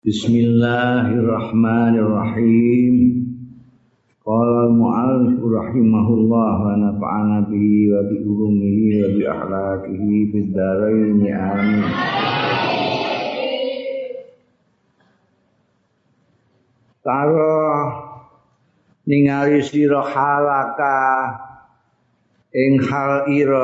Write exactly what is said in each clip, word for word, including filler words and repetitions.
Bismillahirrahmanirrahim. Qala al-mu'allif rahimahullah wa nafa'ana bihi wa bi ulumihi wa bi akhlaqihi fid dharain amin. Taro ningali sira halaka ing hal ira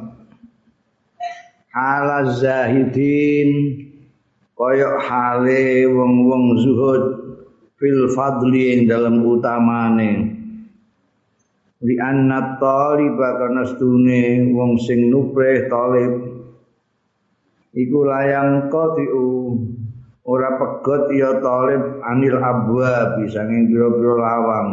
halaz zahidin kaya hale wong-wong zuhud fil fadli ing dalam utamane li anna taliba kana stune wong sing nuprih talib iku layang qati'u ora pegot ya talib anil abwa bisa ing pira-pira lawang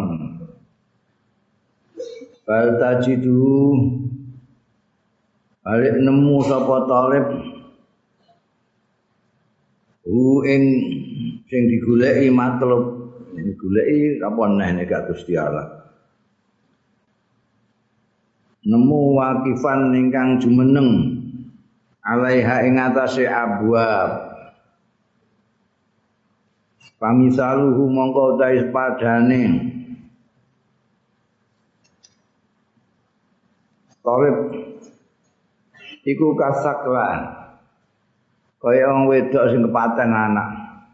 bal tajidu balik nemu sapa talib u ing sing digoleki matlub digoleki apa neh nek Gusti Allah nemu wakifan ingkang jumeneng alaiha ing atase abwab pamisaluhu mongko utahe padane talib iku kasaklah kaya wong wedok sing kepaten anak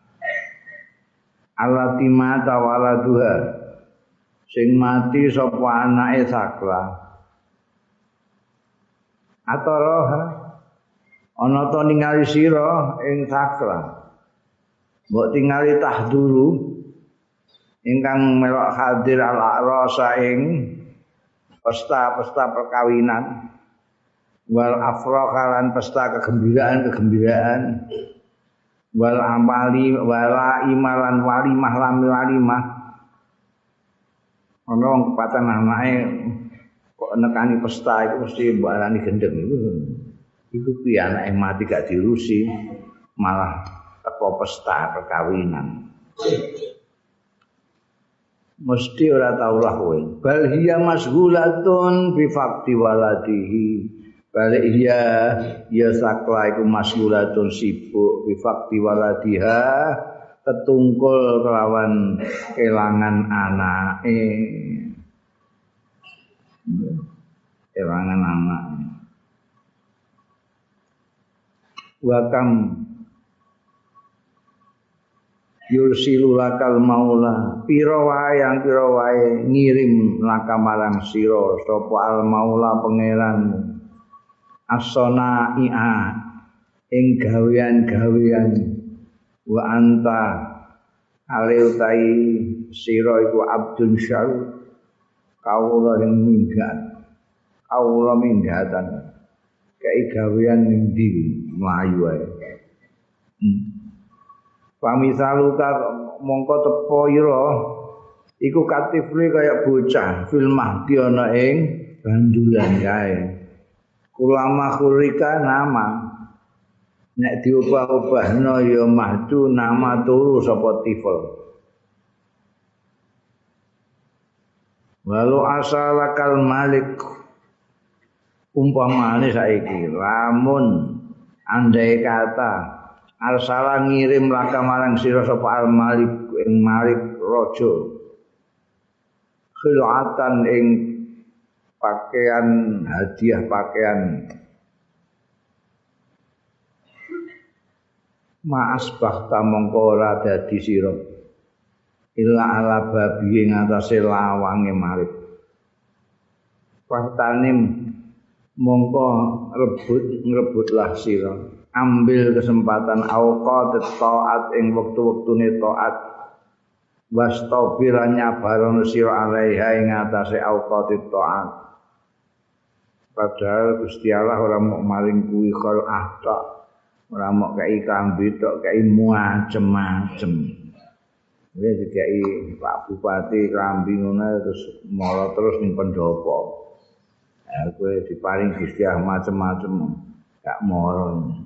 allati mata waladuha sing mati sapa anake sakla ataraha ana ta ningali sira ing sakla mbok tingali tahduru ingkang melok hadir al-rasa ing pesta-pesta perkawinan wal afrah lan pesta kegembiraan-kegembiraan wal amali wala imalan walimah lam walimah ana wong kepatan anake kok nekani pesta iku mesti mbok arani gendeng iku iku piye anake mati gak diurusi malah teko pesta perkawinan mesti ora tau lah kowe bal hiya masghulatun bi faqti waladihi balik iya ya sakla iku masgulatun sibuk bifakti waladiha tetungkul kelawan kelangan anake kelangan anake wakam yursilu lakal maula pira wae yang pira wae ngirim lakamarang sira sapa al maula pangeranmu as-sana'i'a ing gawean-gawean wa anta aleutai sira iku abdun syarud kawula ing minggat kawula minggatan kei gawean ning ndi mlayu ae pamisaluka mongko tepo ira iku katifli kaya bocah fil mahdi ana ing bandulan kae ulama khurika nama nek diubah-ubahno ya mahdu nama turu sapa tifel walau asalakal malik umpamane saiki lamun andai kata arsala ngirim laka marang sira sapa al malik ing malik raja khilatan ing pakaian hadiah pakaian maas bakhta mongko ora dadi sira illa ala babi ing atase lawange malik faktanim mongko rebut ngrebutlah sira ambil kesempatan auqat taat ing wektu-wektune taat wastabir nyabarono sira alaiha ing atase auqat taat padahal Gusti Allah ora mau maring kuwi khol ahta ora mau kei kambi tok kei macem-macem wis dikai Pak Bupati klambi ngono terus mara terus ning pendopo ha kowe diparing Gusti Allah macem-macem gak mara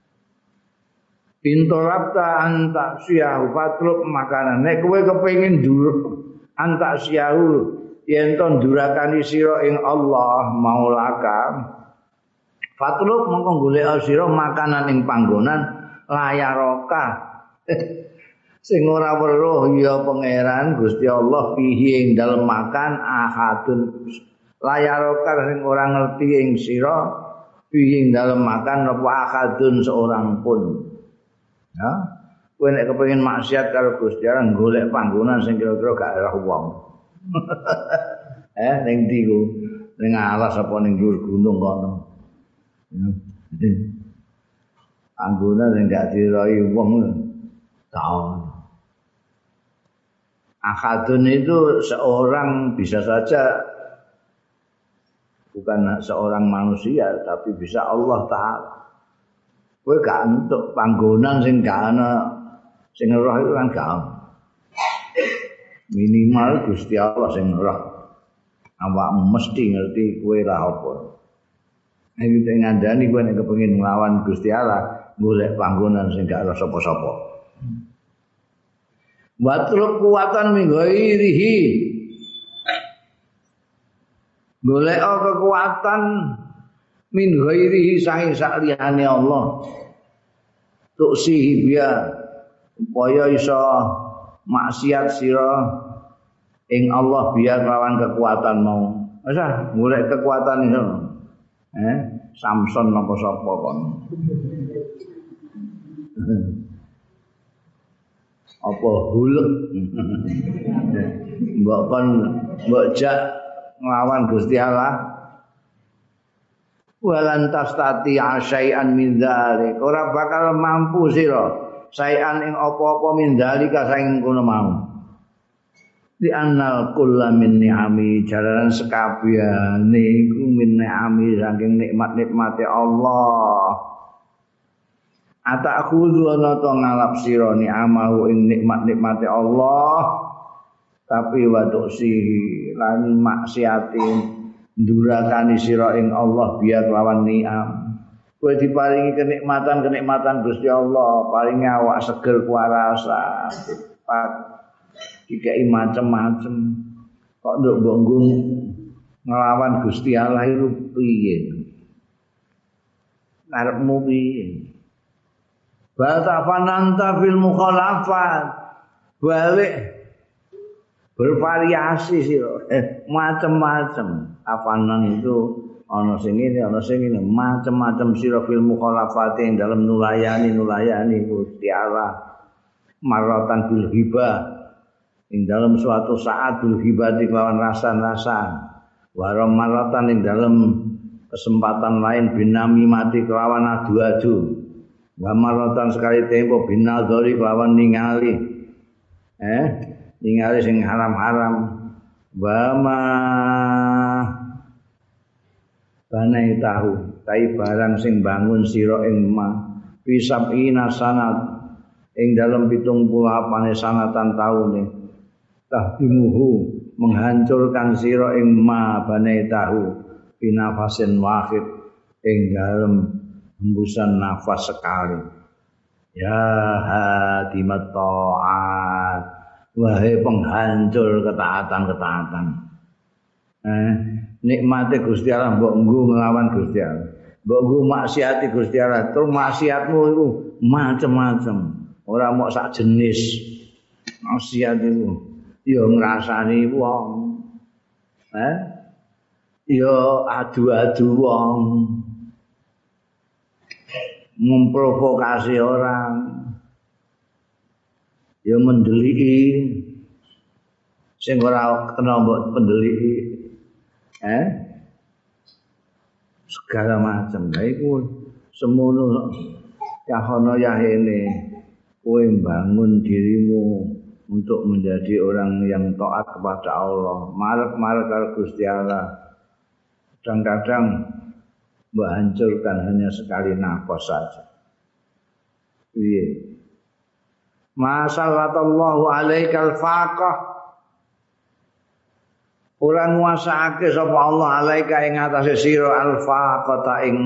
pintorapta antak siyahu patruk makanan nek kowe kepengin ndur antak siyahu yen to ndurakani sira ing Allah maulaka fatluk mongko golek sira makanan ing panggonan layaroka sing ora weruh ya pangeran Gusti Allah fihi ing dalem makan ahadun layarokar sing ora ngerti ing sira fihi ing dalem makan apa ahadun seorang pun ya kowe nek kepengin maksiat karo Gusti Allah golek panggonan sing kira-kira gak ora wong eh ning ndi ku ning alas apa ning dhuwur gunung kono panggonan sing gak diroi wong tahu. Akadun itu seorang bisa saja bukan seorang manusia tapi bisa Allah Ta'ala. Kowe gak entuk panggonan sing gak ana sing roh itu kan gak ana. Minimal Gusti Allah sing roh. Awakmu mesti ngerti kowe lah apa. Nek iki ngandani kowe nek kepengin nglawan Gusti Allah, golek panggonan sing gak ana sapa-sapa. Watruk kuwatan min ghairihi golek kekuatan min ghairihi saking saliyane Allah tuksihi biya upaya iso maksiat sira ing Allah biya lawan kekuatan mau wis ah golek kekuatan iso eh Samson napa sapa kon apa hulek mbok kon mbok jak nglawan Gusti Allah walan tastati syai'an min dzalik ora bakal mampu sira syai'an ing apa-apa min dzalika saking kono mau di annal kullu min ni'ami jalaran sekabehane iku min ni'ami saking nikmat-nikmate Allah atakhudhu ana to ngalap sira ni'amahu ing nikmat-nikmate Allah tapi wa tuksihi lan maksiati ndurakani sira ing Allah biya kelawan ni'am kowe diparingi kenikmatan-kenikmatan Gusti Allah paringi awak seger kuarasa pak dikai macem-macem kok nduk mbok nglawan Gusti Allah iku piye karepmu piye Batafananta fil mukhalafat balik bervariasi sih eh, macam-macam afanan itu ana sing ngene ana sing ngene macam-macam sira fil mukhalafat ing dalam nulayani nulayani Gusti Allah maratan bil hibah ing dalam suatu saat bil hibah kelawan rasan-rasan wa maratan ing dalam kesempatan lain binami mati kelawan adu-adu wa maratan sekali tempo binadzari kelawan ningali eh ningali sing haram-haram wa ma banai tahu tai barang sing bangun sira ing ma pisabina sanat ing dalem pitung puluh delapan sanatan taune tahdimuhu menghancurkan sira ing ma banai tahu binafasin wahid ing dalem hembusan nafas sekali ya hadimat ta'at wahai penghancur ketaatan-ketaatan eh, nikmate Gusti Allah mbok nggo nglawan Gusti Allah mbok nggo maksiati Gusti Allah terus maksiatmu iku macam-macam ora mok sak jenis maksiat iku ya ngrasani wong eh ya adu-adu wong memprovokasi orang ya mendeliki sing ora kena mbok pendeliki eh segala macam lha iku semono yahono yahene kowe bangun dirimu untuk menjadi orang yang taat kepada Allah marek-marek karo Gusti Allah kadang-kadang mbok hancurkan hanya sekali nafas saja piye masallallahu alaikal faqah ora nguasake sapa Allah alaika ing atase sira al faqata ing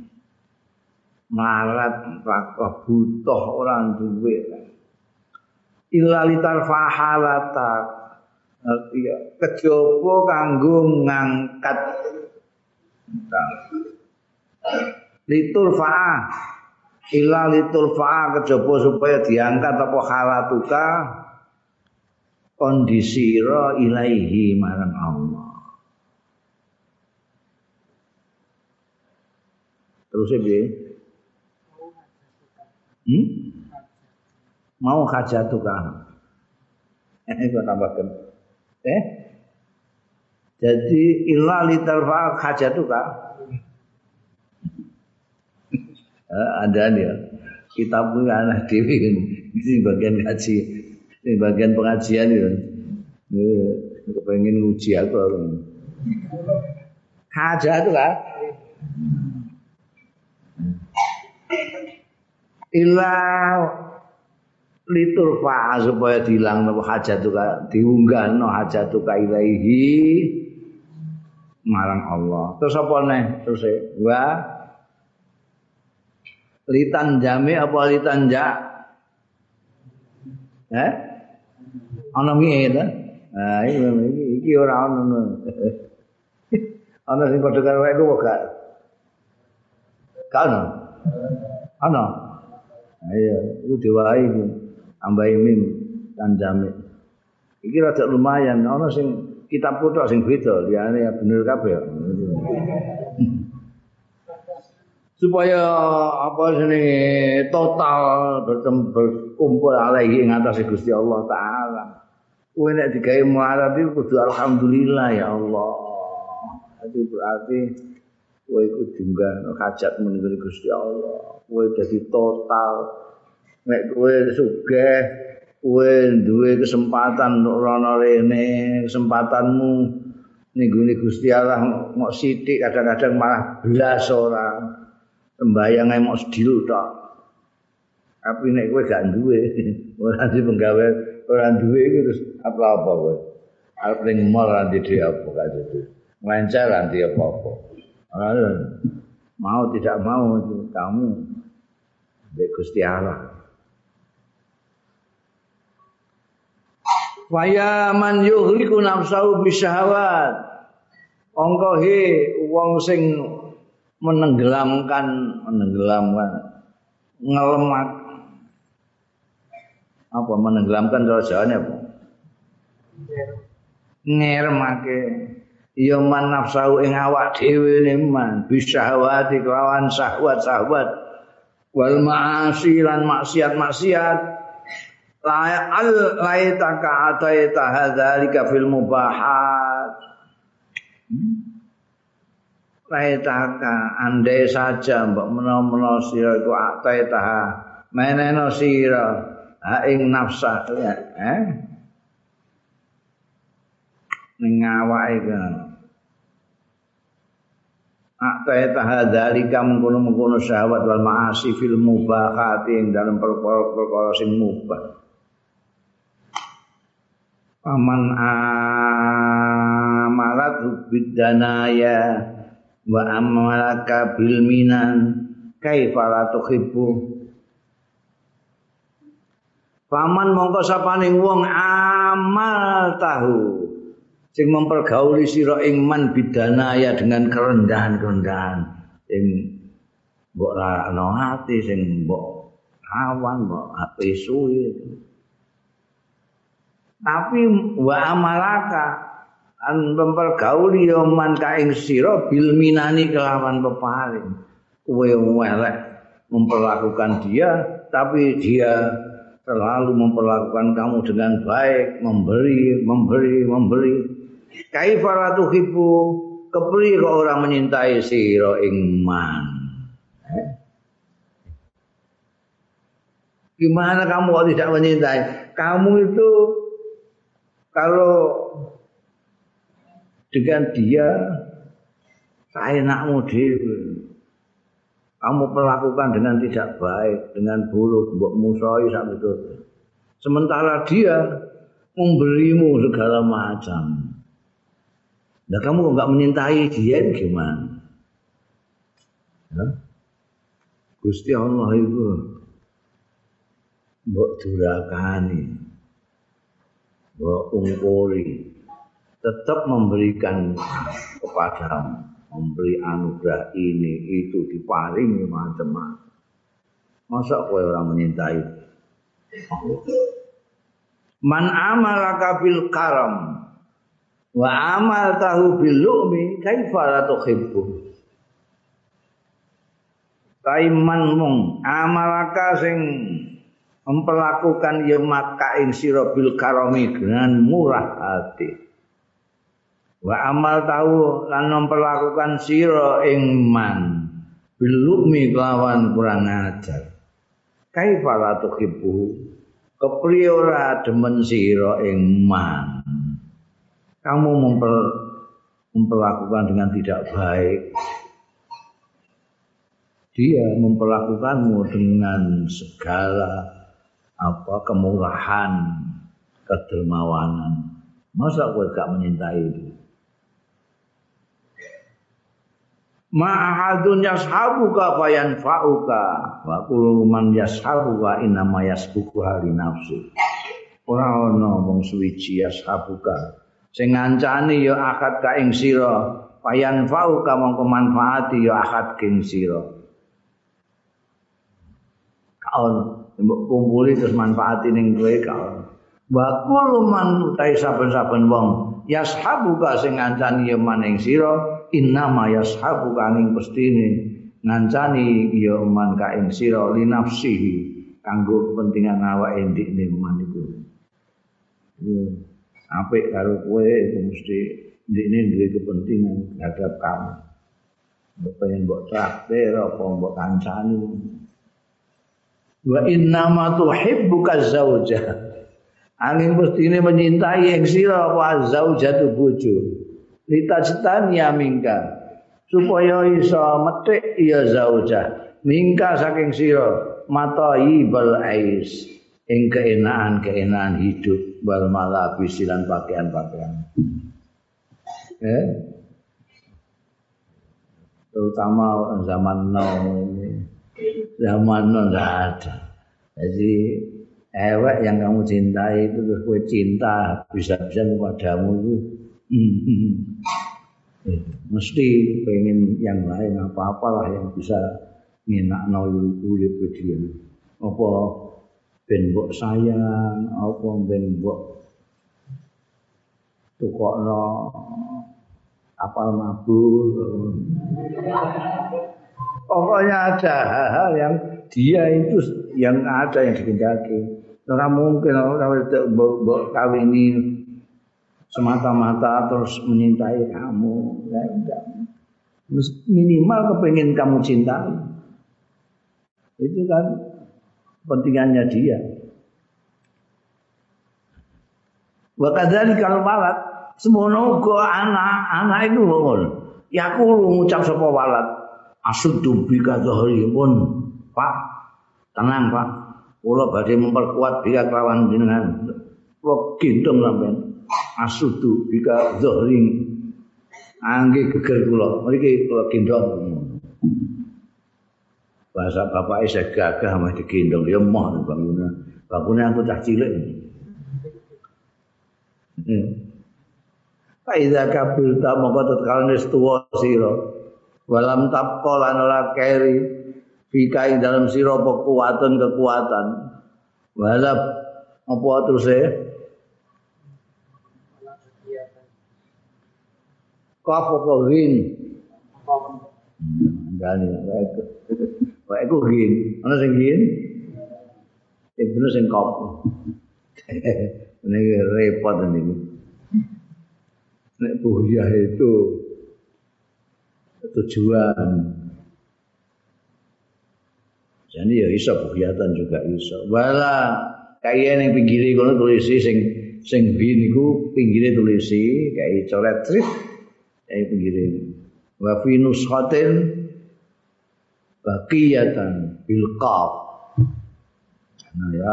marat faqah butuh ora duwe illa litar fahalata arti kejaba kanggo ngangkat litur fa'ah illa litulfa kejaba supaya diangkat apa halatuka kondisi ira ilaihi marang Allah. Terus piye? Hmm? Mau hajatuka. Eh kok tambahkan. Eh? Jadi illa litarfa hajatuka. Eh, ada dia. Kitab ku anak dhewe ini bagian ngaji. Ini bagian pengajian itu. Ini kepengen nguji aku. Hajatuka. Illa liturfa supaya dilang napa hajatuka diunggahno hajatuka ilaihi marang Allah. Terus apa neh terus wa litan jami apa litan ja eh ana miye ta nah iki iki ora ono ana sing padha karo aku gak kan ana ayo itu diwai tambahi mim dan jami iki rada lumayan ana sing kitab kutok sing beda liyane bener kabeh supaya apa jenenge total berkumpul alaihi ing atase Gusti Allah taala. Kowe nek digawe muarab iku kudu alhamdulillah ya Allah. Itu berarti kowe iku diunggah hajat menunggu Gusti Allah. Kowe dadi total nek kowe sugih kowe duwe kesempatan untuk rono rene, kesempatanmu ning gone Gusti Allah mok sithik kadang-kadang malah belas ora. Sembayang ae mok sedhil tok. Tapi nek kowe gak duwe, ora di penggawe, ora duwe iki terus apa-apa kowe. Arep ning mall ora ndek apa gak duwe. Nglencer ora ndek apa-apa. Ora mau tidak mau itu kamu ndek Gusti Allah. Waya man yuhliku nafsahu bisyahawat. Angka he wong sing menenggelamkan menenggelamkan ngelemak apa menenggelamkan cara Jawane apa ngeremake ya man nafsu ing awak dhewe ne man bisyahawati kelawan syahwat-syahwat wal ma'asi lan maksiat-maksiat la al laitaka ataita hadzalika fil mubahat laitaka andai saja mbok menawa-menawa sira iku ataitaha meneno sira ha ing nafsa eh ning awake kan ataitaha dzalika mengkono-mengkono syahwat wal ma'asi fil mubahati ing dalam perkara-perkara sing mubah paman amalat bidanaya wa amalaka bil minan kaifa la tuhibbu paman mongko sapaning wong amal tahu sing mempergauli sira ing man bidanaya dengan kerendahan-kerendahan sing mbok rano ati sing mbok awan mbok ape suwi tapi wa amalaka an mempergauli ya man kaing sira bil minani kelawan peparing kowe elek memperlakukan dia tapi dia selalu memperlakukan kamu dengan baik memberi memberi memberi kaifa la tuhibbu kepriye kok ora menyintai sira ing man eh? Gimana kamu kok tidak menyintai kamu itu kalau dengan dia seenakmu dhewe kamu perlakukan dengan tidak baik dengan buruk mbok musuhi sak betul sementara dia memberimu segala macam nah kamu kok enggak menyintai dia gimana ya? Gusti Allah itu mbok durakani mbok ungkuri tetap memberikan kepadamu, memberi anugerah ini itu diparingi macam-macam. Masa kowe ora menyintai? Man amalaka bil karam wa amal tahu bil lu'mi kaifa la tuhibbu. Kaiman mung amalaka sing memperlakukan ya maka ing sira bil karami dengan murah hati. Wa amal tahu lan memperlakukan sira ing man bil lu'mi kelawan kurang ajar. Kaifa la tuhibbu. Kepriye ora demen sira ing man. Kamu memper, memperlakukan dengan tidak baik. Dia memperlakukanmu dengan segala apa kemurahan, kedermawanan. Masa kowe gak menyintai itu? Ma'ahadun yashabuka fayanfa'uka wa kullu man yashabuka innama yasbuku hali nafsi. Ora ana wong suwiji yashabuka sing ngancani ya akad ka ing sira fayanfa'uka mongko manfaati ya akad ing sira. Kaon mbok kumpuli terus manfaati ning kowe kaon. Wa kullu man utai saben-saben wong yashabuka sing ngancani ya maning sira innama yashabuka ning pestine ngancani ya man ka ing sira li nafsihi kanggo kepentingan awake ndekne man iku. Apik karo kowe iku mesti ndekne duwe kepentingan terhadap kamu. Mbok pengen mbok traktir apa mbok kancani. Wa innama tuhibbuka zaujah. Angin mestine menyintai ing sira apa zaujatu bojo. Litajtania mingka supaya iso metik ya zaujah mingka saking sira matai bal ais ing keenaan-keenaan hidup wal malabis lan pakaian-pakaian. Eh? Terutama zaman now ini. Zaman now enggak ada. Jadi ewek yang kamu cintai itu terus kowe cinta bisa-bisa kepadamu itu mesti pengen yang lain apa-apalah yang bisa ngenakno urip dia. Apa ben mbok sayang, apa ben mbok tukokno apal mabur. Pokoknya ada hal-hal yang dia itu yang ada yang dikehendaki. Ora mungkin ora mbok kawini semata-mata terus menyintai kamu. Ya enggak. Minimal kepengen kamu cintai. Itu kan kepentingannya dia. Wa kadzalika kalau walad semono uga anak, anak itu ngono. Ya aku ngucap sapa walad asuddu bika dhahri pun Pak tenang Pak kula badhe memperkuat bika kelawan jenengan kula gendong sampean asuddu bika dhahri angge geger kula mriki kula gendong bahasa bapak saya gagah mah digendong ya moh bangunan bangunan aku cah cilik Faiza kabir ta moko tetkala wis tuwa sira walam tapqa lan ora keri fikai dalam sira apa kekuatan kekuatan walab apa terus e kaf apa rin ngani wae ku rin ana sing rin sing bener sing kaf ini repot ini nek buhiyah itu tujuan. Jadi ya iso buhiyatan juga iso. Wala kaya ning pinggire kono tulisi sing sing bin niku pinggire tulisi kaya coret trit kaya pinggire. Wa fi nuskhatin baqiyatan bil qaf. Nah ya.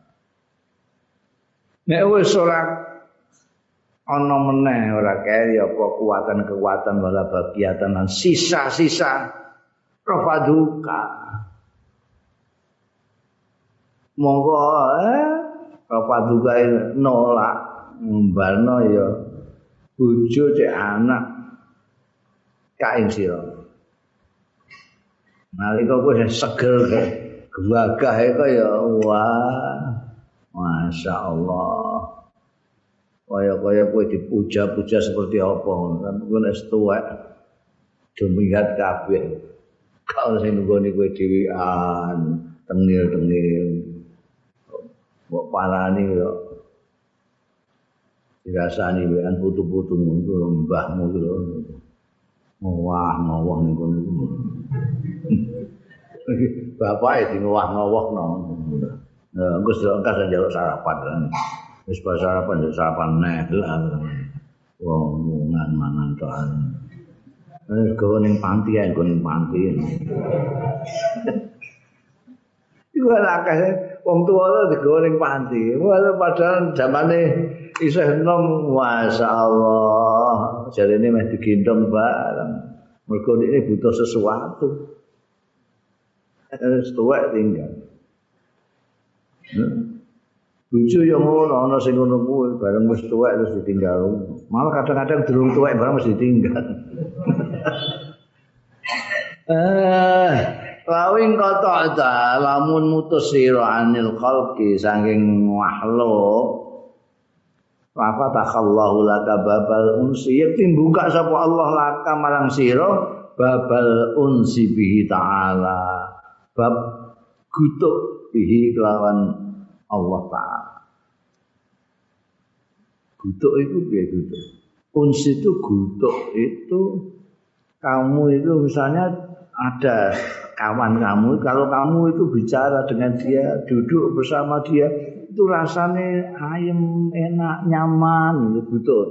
Nek wis ora ana meneh ora kaya apa kekuatan-kekuatan wala bagiatan lan sisa-sisa rafaduka monggo eh rafaduka nolak mbalno ya bojo cek anak kae sira nalika kowe seger Gagah iku ya wah. Masya Allah. Kaya-kaya kowe dipuja-puja seperti apa kan kowe wis tuwek. Dumihat kabeh. Kalau sing nggone kowe dhewean, tengil-tengil. Mbok parani kok dirasani wean putu-putumu iku mbahmu iku lho. Ngowah-ngowah ning kono iku. Bapake di ngowah-ngowahno. Nah, engko sedekah njaluk sarapan. Wis pas sarapan njaluk sarapan neh lah. Wong mungan mangan tok. Wis go ning panti ae, go ning panti. Iku akeh wong tuwa digawa ning panti. Padahal zamane isih enom, masyaallah. Jarene meh digendong bareng. Mergo ini butuh sesuatu. Wis tuwek tinggal. Bojo yo ngono, ana sing ngono kuwi, bareng wis tuwek terus ditinggal. Malah kadang-kadang durung tuwek bareng mesti ditinggal. Eh, lawing kata ta, lamun mutus sira anil khalqi saking makhluk. Fa takallahu laka babal unsi, yakti buka sapa Allah laka marang sira babal unsi bihi ta'ala. Bab gutuk bihi kelawan Allah Ta'ala. Gutuk itu piye gutuk? Uns itu gutuk itu kamu itu misalnya ada kawan kamu, kalau kamu itu bicara dengan dia, duduk bersama dia, itu rasanya ayem, enak, nyaman, itu gutuk.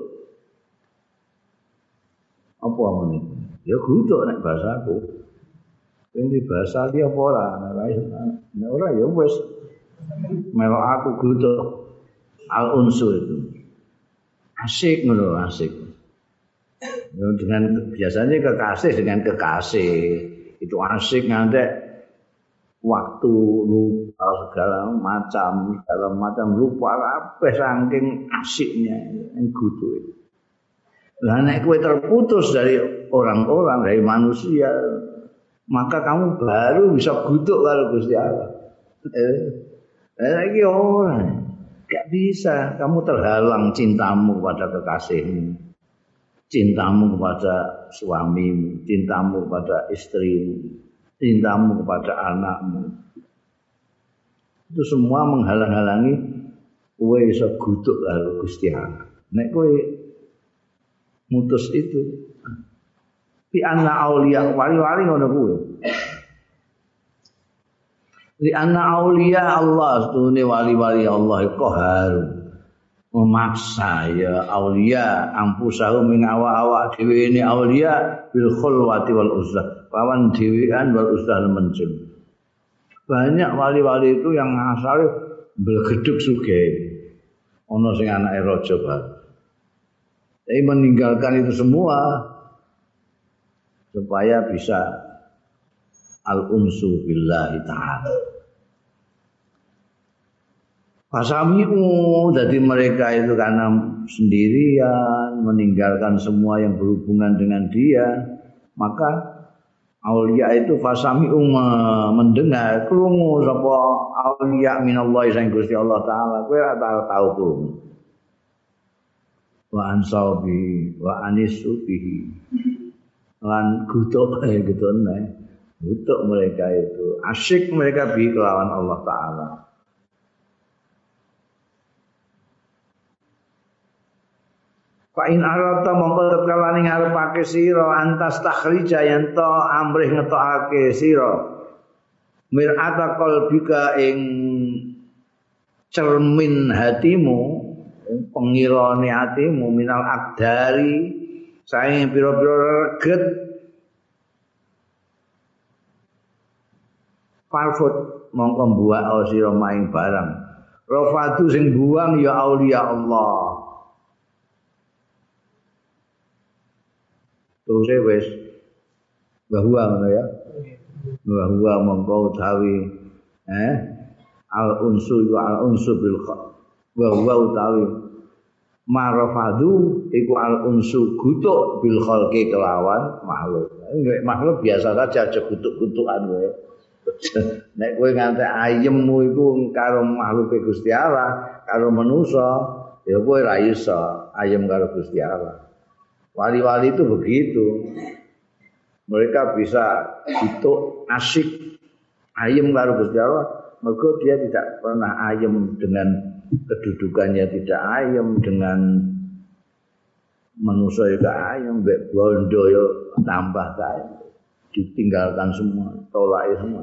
Apa ini? Ya gutuk nek bahasaku. Ini bahasa dia apa ora? Nek ora ya wis melok aku gutuk al-unsu itu. Asik ngono, asik. Dengan biasanya kekasih dengan kekasih itu asik ngantek waktu lupa segala macam, segala macam lupa kabeh saking asiknya yang gutuk. Lah nek kowe terputus dari orang-orang, dari manusia, maka kamu baru bisa gutuk kalau Gusti Allah. Eh, eh lagi orang, gak bisa. Kamu terhalang cintamu kepada kekasihmu, cintamu kepada suamimu, cintamu kepada istrimu, cintamu kepada anakmu. Itu semua menghalang-halangi kowe iso gutuk karo Gusti Allah. Nek kowe mutus itu, di anna auliya wali-wali ngono kuwi. Di anna auliya Allah, setune wali-wali Allah iku haru memaksa ya auliya ampusahum ing awak-awak dhewe ini auliya bil khulwati wal uzlah, pawan dhewean wal uzlah mencul. Banyak wali-wali itu yang asale mblegedhuk sugih. Ana sing anake raja bae. Tapi meninggalkan itu semua supaya bisa al-unsu billahi ta'ala. Fasami'u, jadi mereka itu karena sendirian, meninggalkan semua yang berhubungan dengan dia, maka aulia itu fasami'u mendengar, krungu sapa aulia minallahi sang Gusti Allah Ta'ala, kowe ora tau krungu. Wa ansaubi wa anisubihi lan gutuk eh gitu nek gutuk mereka itu asyik mereka bi kelawan Allah Taala. Fa in arata mongko tetkalane ngarepake sira antas takhrija yen to amrih ngetokake sira mir'ata qalbika ing cermin hatimu, pengirane hatimu minal akdari saing pira-pira reget farfut mongko mbuak sira maing barang rafatu sing buang ya aulia Allah. Terus wis bahwa ngono ya. Bahwa mongko utawi eh al unsu wa al unsu bil kha bahwa utawi marafadu iku al unsu gutuk bil khalqi kelawan makhluk. Enggak makhluk biasa saja aja gutuk-gutukan wae. Nek kowe nganti ayemmu iku karo makhluk Gusti Allah, karo manusa, ya kowe ora iso ayem karo Gusti Allah. Wali-wali itu begitu. Mereka bisa itu asyik ayem karo Gusti Allah, mergo dia tidak pernah ayem dengan kedudukannya, tidak ayem dengan manusia juga ayem, mbek bondo yo tambah kae. Ditinggalkan semua, tolak semua.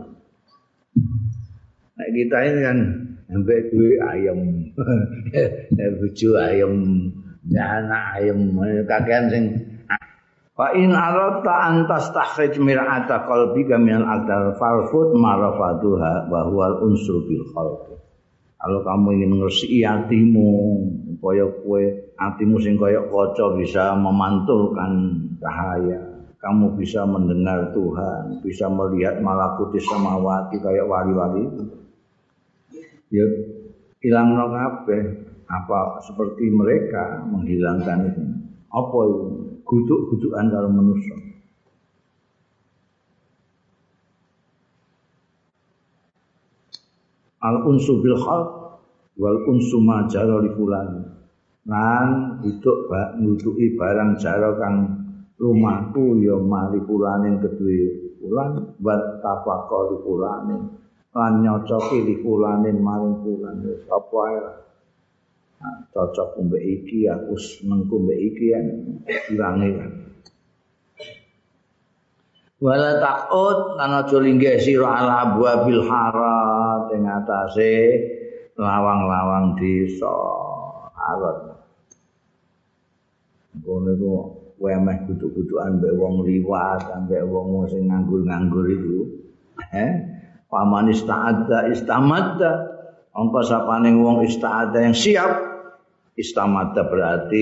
Nah kita ini kan sampai duwe ayam, bojo ayam, anak ayam, kakean sing. Fa in arata an tastakhrij mir'ata qalbika min al-aqdar farfut marafatuha wa huwa al-unsur bil khalq. Kalau kamu ingin ngresiki hatimu, supaya kowe hatimu sing kaya kaca bisa memantulkan cahaya. Kamu bisa mendengar Tuhan, bisa melihat malakutis samawati kayak wali-wali itu. Ya hilangno kabeh apa seperti mereka menghilangkan itu. Apa itu? Guduk-gudukan karo manusia. Al-unsu bil khalq wal unsu ma jara li fulan. Lan hidup nguduki barang jara kang rumahku ya mari pulaning kedue pulan wat tafaqo li pulaning lan nyocoki li pulaning maring pulan wis apa ae nah, cocok mbek iki aku senengku mbek iki kan ilange kan wala taqut lan aja linggih sira ala abwabil harat ing atase lawang-lawang desa harat ngono iku wemeh guduk-gudukan mbek wong liwat, mbek wong sing nganggur-nganggur itu. Eh, paman ista'adda istamadda. Angka sapane wong ista'adda yang siap. Istamadda berarti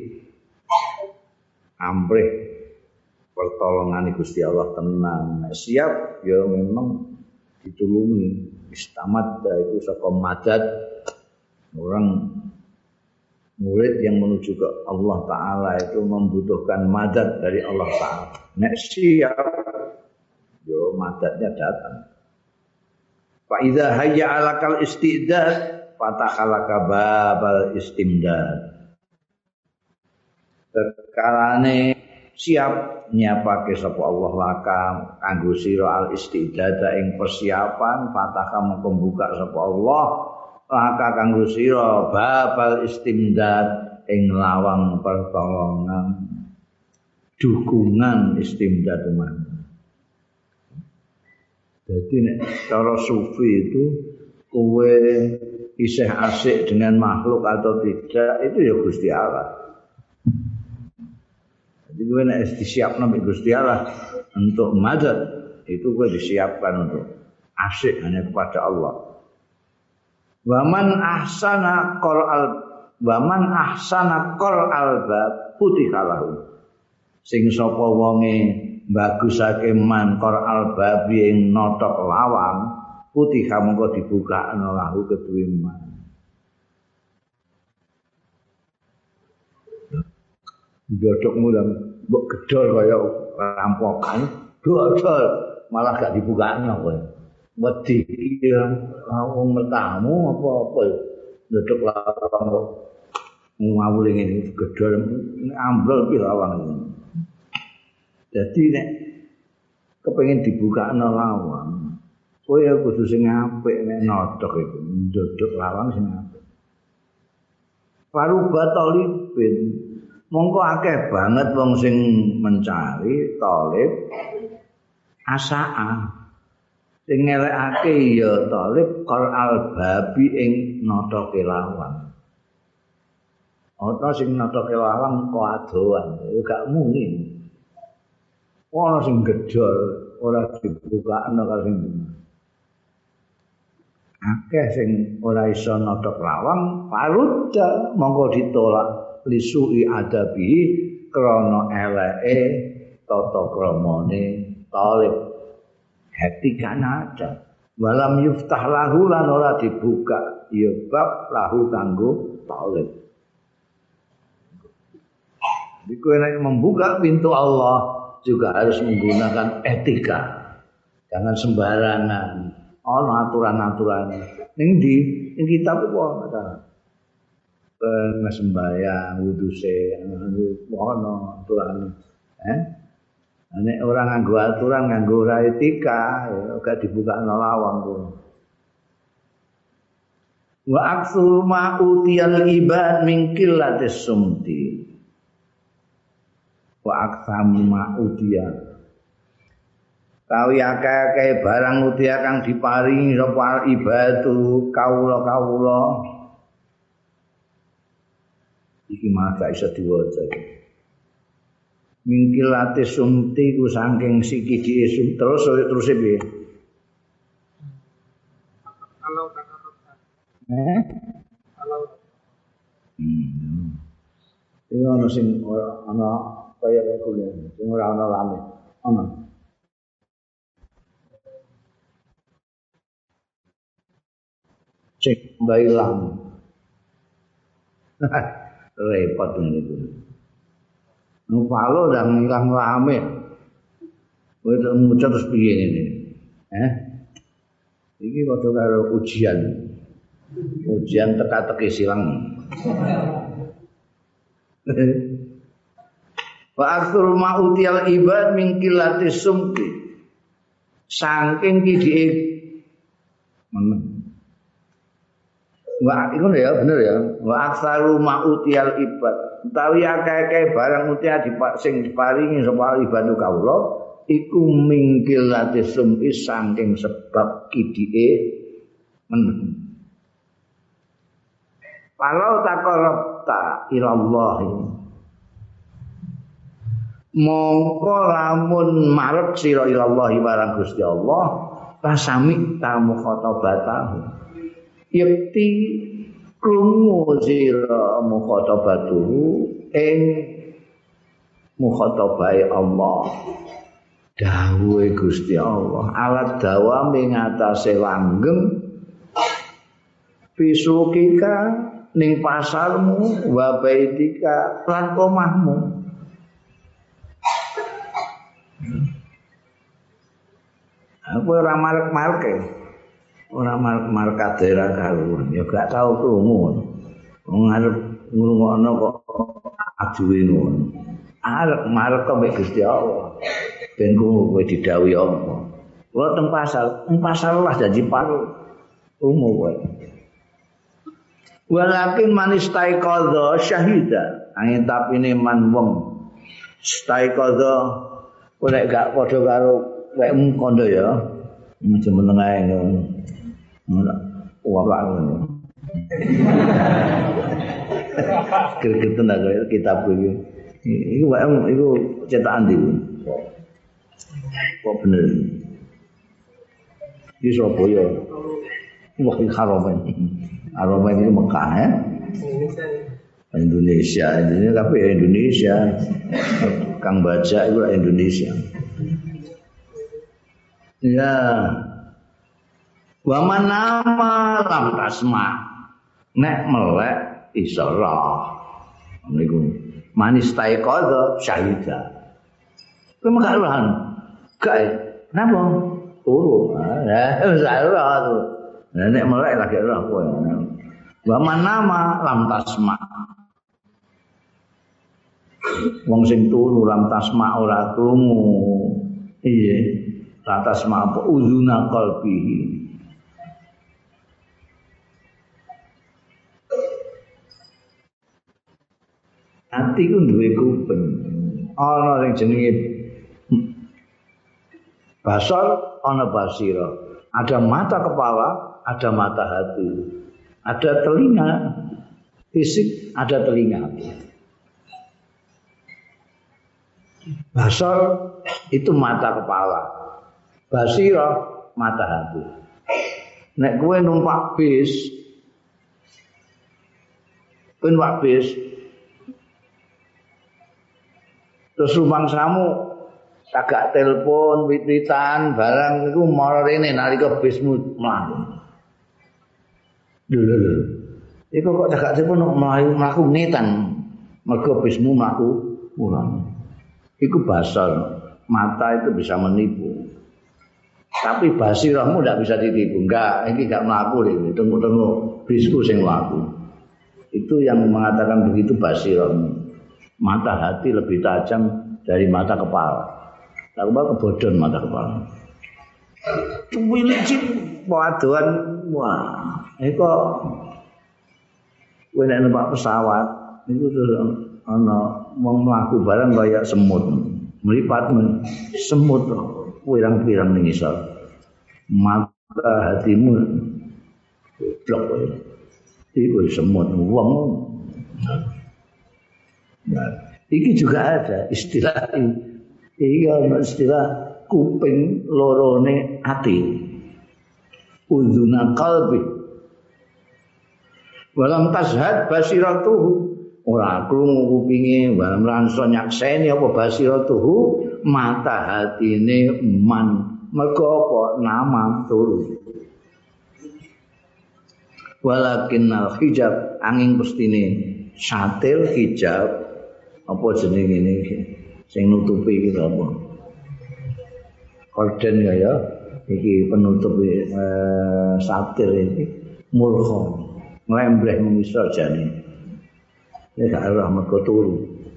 amrih pertolongan Gusti Allah tenang. Nah, siap ya memang ditulungi. Istamadda itu saka madad orang murid yang menuju ke Allah Ta'ala itu membutuhkan madad dari Allah Ta'ala. Nek siap, yo madadnya datang. Fa idza hayya 'alakal istidad fatakhalaka babal istimdad. Sekarane siap nyiapake sapa Allah laka kanggo sira al istidad ing persiapan fataka membuka sapa Allah laka kanggo sira babal istimdad ing lawang pertolongan dukungan istimdad man. Jadi nek cara sufi itu kowe isih asik dengan makhluk atau tidak itu ya Gusti Allah. Jadi kowe nek disiapno mbek Gusti Allah untuk madad itu kowe disiapkan untuk asik hanya kepada Allah. Waman ahsana qur'al waman ahsana qur'al bab putikalahu sing sapa wonge bagusake man qur'al babi ing notok lawang putika mengko dibukakno lahu kedue man jodhokmu lan mbok gedhol kaya rampokan dodol malah gak dibukakno kowe wedi ya wong metamu apa-apa ndodok lawang kok ngawul ngene gedhor ambrol pi lawang ini. Jadi nek kepengin dibukakno lawang kowe ya kudu sing apik nek nodok iku ndodok lawang sing apik. Paruba talibin mongko akeh banget wong sing mencari talib asaa sing ngelekake ya talib qal babi ing notoke lawang. Ana sing notoke lawang kok adoan, ya gak muni. Ana sing gedhor ora dibukakno karo sing akeh sing ora iso notok lawang parudha mongko ditolak lisui adabi krana eleke tata kramane talib. Hati kan ada walam yuftah lahu lan ora dibuka ya bab lahu kanggo talib. Jadi kowe nek membuka pintu Allah juga harus menggunakan etika. Jangan sembarangan. Ono aturan-aturan. Ning ndi? Ning kitab iku ono ta. Ben sembayang wudu se ono aturan. Eh? Nek ora nganggo aturan, nganggo ora etika, ya gak dibukakno lawang kuwi. Wa aktsur ma utiyal ibad min qillatis sumti. Wa aktsam ma utiyal tawi akeh-akeh barang utia kang diparingi sapa ibadu kawula-kawula iki malah gak iso diwaca mingkilate sumti ku saking sikidi sum terus terus piye kalau kata eh kalau hmm iki ana sing ana kaya kuliah sing ora ana lame ana cek bailang repot ini itu ngupalo dan ngilang rame itu muncul terus piye ini eh ini waktu karo ujian ujian teka-teki silang wa aktsur ma'utiyal ibad min qillatis sumti saking kidike men wa iku ya bener ya wa aktsaru ma'utiyal ibad utawi akeh-akeh barang utia sing diparingi sapa ibadu kawula iku mingkilate sumi saking sebab kidike men walau taqarrabta ilallah mongko lamun marep sira ilallah marang Gusti Allah pasami tamu khotabatahu yakti krungu sira mukhatabatuhu ing mukhatabai Allah dawuhe Gusti Allah alat dawame ngatasé langgeng pisukika ning pasarmu wa baitika lan omahmu aku ora marek-mareke ora marka daerah karuan ya gak tau krungu wong arep ngrungokno kok aduwe ngono arep marek kok mek Gusti Allah ben kowe didhawuhi apa kula teng pasar teng pasar lah janji paru umum kowe walakin manistai qadha syahida angin tapine man wong stai qadha ora gak padha karo wekmu kondo ya jeneng ae ngono wala ngono. Kira-kira nak kitab iki. Iku wae iku cetakan ndi. Kok bener. Di Surabaya. Wah, iki Haromen. Haromen itu Mekah ya. Indonesia. Indonesia tapi ya Indonesia. Kang baca itu Indonesia. Ya. Wa manama lam tasma nek melek iso roh niku manis taikodo syahida kowe gak rohan gak napa turu ya wis roh nek melek lagi roh kowe wa manama lam tasma wong sing turu lam tasma ora krungu iya lam tasma apa uzuna qalbihi hati ku duwe kuping ana sing jenenge basar ana basira ada mata kepala ada mata hati ada telinga fisik ada telinga basar itu mata kepala basira mata hati nek kowe numpak bis kowe numpak bis terus rumangsamu kagak telepon, wit-witan, barang itu mara rene nalika bismu mlaku. Lho lho lho. Iku kok kagak telepon mlayu mlaku ngetan. Mergo bismu mlaku pulang. Iku basar, mata itu bisa menipu. Tapi basirahmu tidak bisa ditipu. Enggak, ini enggak melaku ini. Tunggu-tunggu bisku sing melaku. Itu yang mengatakan begitu basirahmu. Mata hati lebih tajam dari mata kepala. Tak kepala kebodon mata kepala. Cuwilicin waduan wah. Ini kok kowe nek numpak pesawat niku terus ana wong mlaku barang kaya semut. Meripat semut pirang-pirang ning isor. Mata hatimu blok kowe. Iku semut wong. Nah, iki juga ada istilah iki ana istilah kuping lorone ati. Udhuna qalbi. Walam tashhad basiratuhu. Ora krungu kupinge, walam ransa nyakseni apa basiratuhu, mata hatine man. Mergo apa nama turu. Walakinnal hijab angin pestine satil hijab apa jenenge ngene sing nutupi iki apa korden ya ya iki penutup eh, satil iki mulkha nglembreh mengisor jane nek arah mergo turu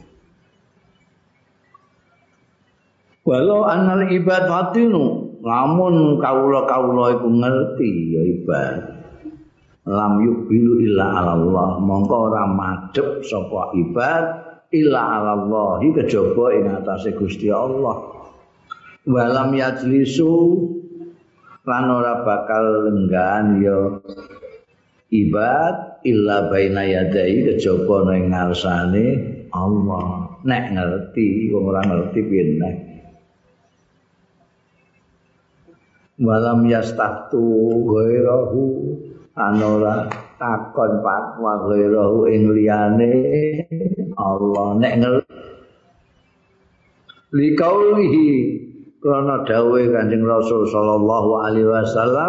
walau annal ibadatinu lamun kawula-kawula iku ngerti ya ibadah lam yubilu illa Allah mongko ora madhep sapa ibad illa Allah kejaba ing atase Gusti Allah walam yajlisu lan ora bakal lenggan ya ibad illa baina yadai kejaba ning ngarsane Allah nek ngerti wong ora ngerti piye nek walam yastaftu ghairahu anora takon fatwa ghairuhu ing liyane Allah nek ngerti likaulihi krana dawuhe Kanjeng Rasul sallallahu alaihi wasallam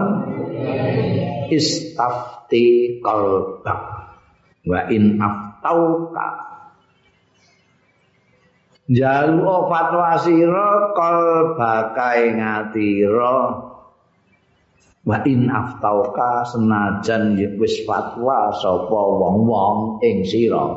istafti qalbak wa in aftauka jalu fatwa sira qalbaka ing atira wa in aftauka senajan wis fatwa sapa wong-wong ing sira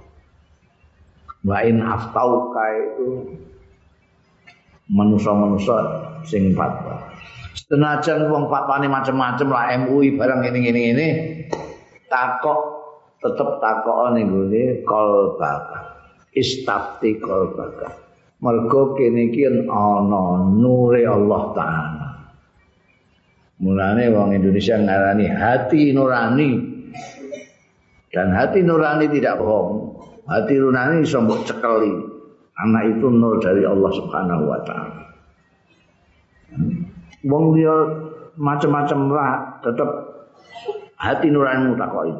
wa in aftauka itu manusa-manusa sing fatwa senajan wong fatwane macam-macam lah M U I barang ngene-ngene ngene takok tetep takok ning gone qalbaka istafti qalbaka mergo kene iki ana nure Allah taala. Mulane wong Indonesia ngarani hati nurani. Dan hati nurani tidak bohong. Hati nurani iso mbok cekeli. Anak itu nur dari Allah Subhanahu wa taala. Wong dia macam-macam lah tetap hati nuranimu takoki.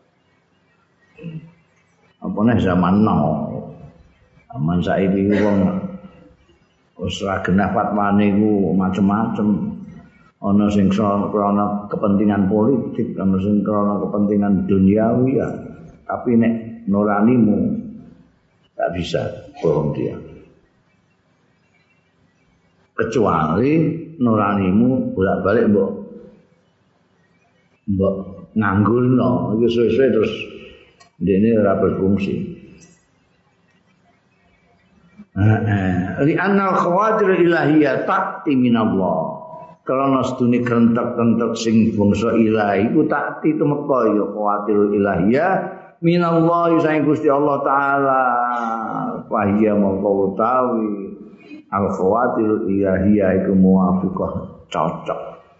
Apa nek zaman now. Zaman saiki wong wis ra genah fatwane iku macam-macam. Ana sing krana kepentingan politik, ana sing krana kepentingan duniawi ya. Tapi nek nuranimu tak bisa bohong dia. Kecuali nuranimu bolak-balik mbok mbok nganggulno, iki suwe-suwe terus dene ora berfungsi. Heeh, li annal khawatir ilahiyah ta'ti minallah. Karena sedune kentek-kentek sing bangsa ilahi ku takti tumeka ya khawatir ilahiyah minallah saing Gusti Allah taala fahiya mongko utawi al khawatir ilahiyah iku muwafiqah cocok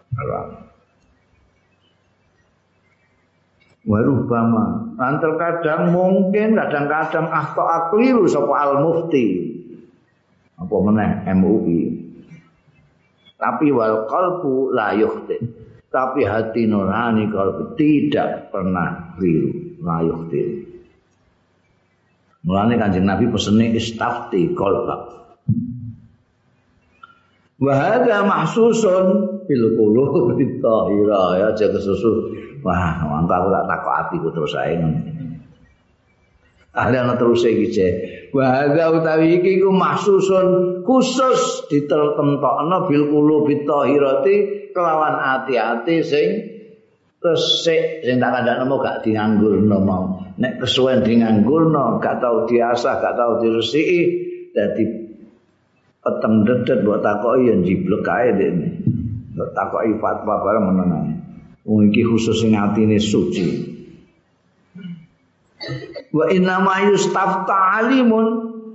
warubama lan terkadang mungkin kadang-kadang ahta akliru sapa al mufti apa meneh M U I tapi wal qalbu la yukhti tapi hati nurani kalbu tidak pernah keliru la yukhti. Mulane Kanjeng Nabi pesene istafti qalbak wa hadza mahsusun bil qulub tahira ya aja kesusu wah mangko aku tak takok atiku terus ae ahli ana terus iki Bahada utawi iki ku mahsusun khusus ditertentokno bil qulubi thahirati kelawan ati-ati sing resik sing tak kandhakno gak dianggurno mau. Nek kesuwen dianggurno gak tau diasah, gak tau diresiki dadi peteng dedet mbok takoki ya jiblek kae dene. Mbok takoki fatwa bareng menengan. Wong iki khusus sing atine suci. Wa inna ma yustafta alimun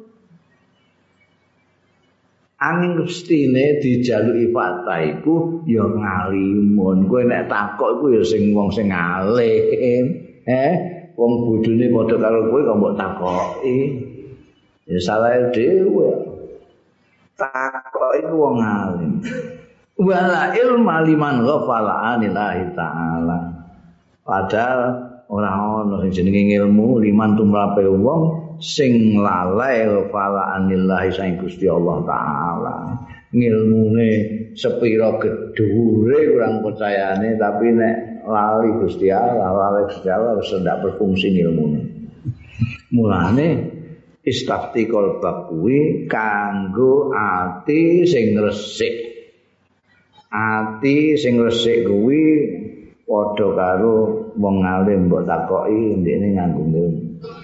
angin kestine dijaluki fatwa iku ya ngalimun. Kowe nek takok iku ya sing wong sing alim. Eh, wong bodhone padha karo kowe kok mbok takoki. Ya salah dhewe. Takok iku wong alim. Wala ilma liman ghafala anillahi ta'ala. Padahal ora ana sing jenenge ilmu liman tumrape wong sing lalai ghafala anillahi sang Gusti Allah taala. Ngilmune sepira gedhure kurang percayane tapi nek lali Gusti Allah, lali Gusti Allah wis ndak berfungsi ilmune. Mulane istafti qalbak kuwi kanggo ati sing resik. Ati sing resik kuwi padha karo wong alim mbok takoki ndekne nganggo ilmu.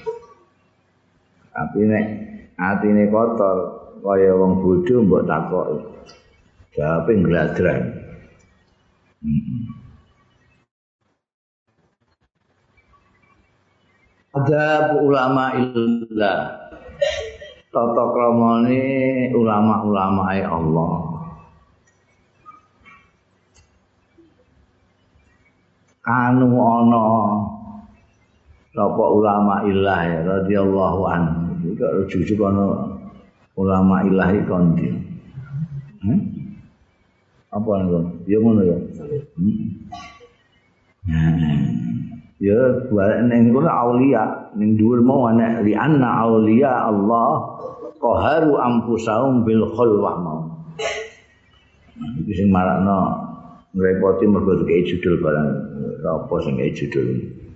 Tapi nek atine kotor kaya wong bodho mbok takoki. Jawabe ngladran. Heeh. Ada ulama illah. Tata kramane ulama-ulama Allah. Anu ana sapa ulama ilah ya radhiyallahu anhu iki kok jujuk ana ulama ilah iki kondi hmm? Apa ngono ya ngono ya hmm. Nah ya balik ning kono aulia ning dhuwur mau ana li anna aulia Allah qaharu anfusahum bil khulwah mau iki sing marakno ngrepoti mergo kaya judul barang apa sing kaya judul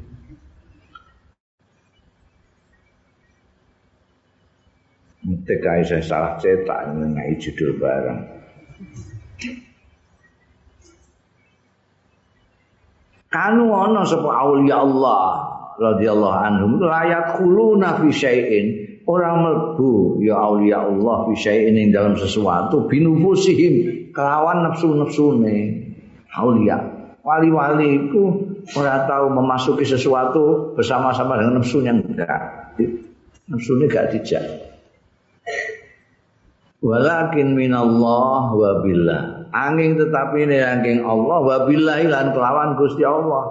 Nek kae saya salah cetak ngai judul barang kanu ana sapa aulia Allah radhiyallahu anhum layat khuluna fi syai'in orang mlebu ya aulia Allah fi syai'in ing dalam sesuatu binufusihim kelawan nafsu-nafsune aulia wali-wali itu ora tahu memasuki sesuatu bersama-sama dengan nafsunya enggak nafsunya enggak dijak walakin minallah wa billah angin tetapi ini angin Allah wa billahi lan kelawan Gusti Allah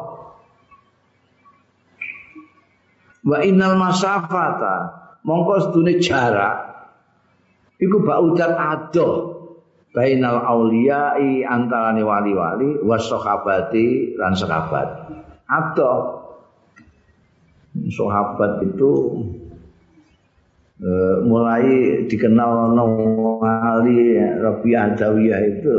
wa innal masafata mongko sedune jarak iku baudat adoh bainal auliyai antarane wali-wali was sahabati lan sahabat. Atau sahabat itu e, mulai dikenal wali Rabi'ah Adawiyah itu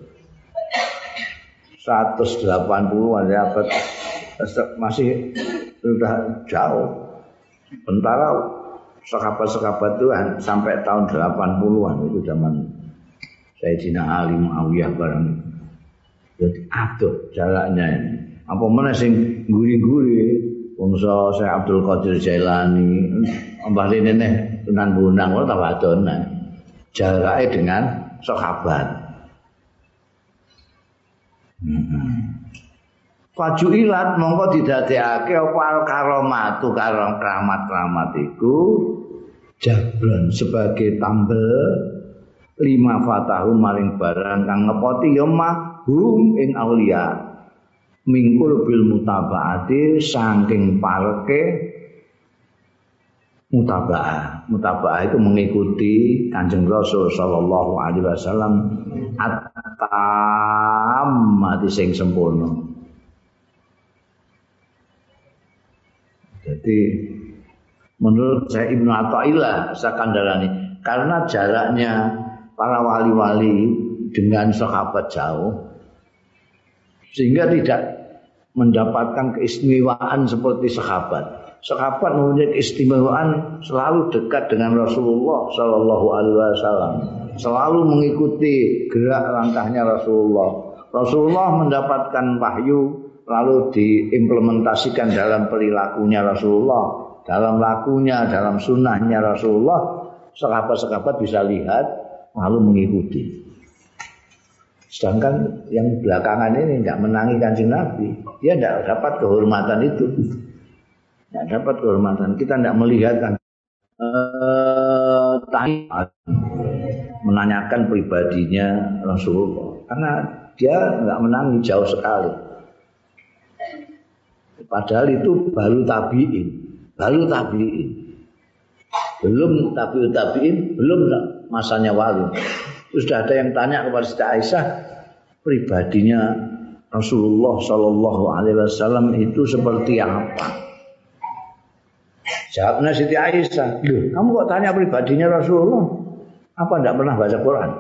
seratus delapan puluhan ya masih sudah jauh. Sementara sahabat-sahabat itu sampai tahun delapan puluhan itu zaman Sayyidina Ali Muawiyah barang. Jadi aduh jaraknya ini. Apa mana sing guri-guri bangsa Syekh Abdul Qadir Jailani, Mbah Linene Sunan Bonang ora ta wadonan. Jarake dengan sahabat. Heeh. Fajuilat mongko didadekake apa al karomatu karo keramat-keramat iku jablon sebagai tambel lima fatahu maring barang kang ngepoti ya mahum ing aulia mingkul bil mutabaati saking parke mutaba'ah mutaba'ah itu mengikuti Kanjeng Rasul sallallahu alaihi wasallam at-tammati sing sempurna. Jadi menurut saya Ibnu Athaillah Sakandarani karena jaraknya para wali-wali dengan sahabat jauh sehingga tidak mendapatkan keistimewaan seperti sahabat. sahabat mempunyai keistimewaan selalu dekat dengan Rasulullah Sallallahu Alaihi Wasallam, selalu mengikuti gerak langkahnya Rasulullah. Rasulullah mendapatkan wahyu lalu diimplementasikan dalam perilakunya Rasulullah, dalam lakunya, dalam sunnahnya Rasulullah. Sahabat-sahabat bisa lihat lalu mengikuti. Sedangkan yang belakangan ini tidak menangi Kanjeng Nabi, dia tidak dapat kehormatan itu, tidak dapat kehormatan. Kita tidak melihat kan, eh, menanyakan pribadinya Rasulullah, karena dia tidak menangi, jauh sekali. Padahal itu baru tabiin, baru tabiin. Belum tabiut tabiin, belum masanya wali. Terus sudah ada yang tanya kepada Siti Aisyah, pribadinya Rasulullah Sallallahu Alaihi Wasallam itu seperti apa? Jawabnya Siti Aisyah, loh, kamu kok tanya pribadinya Rasulullah? Apa tidak pernah baca Quran?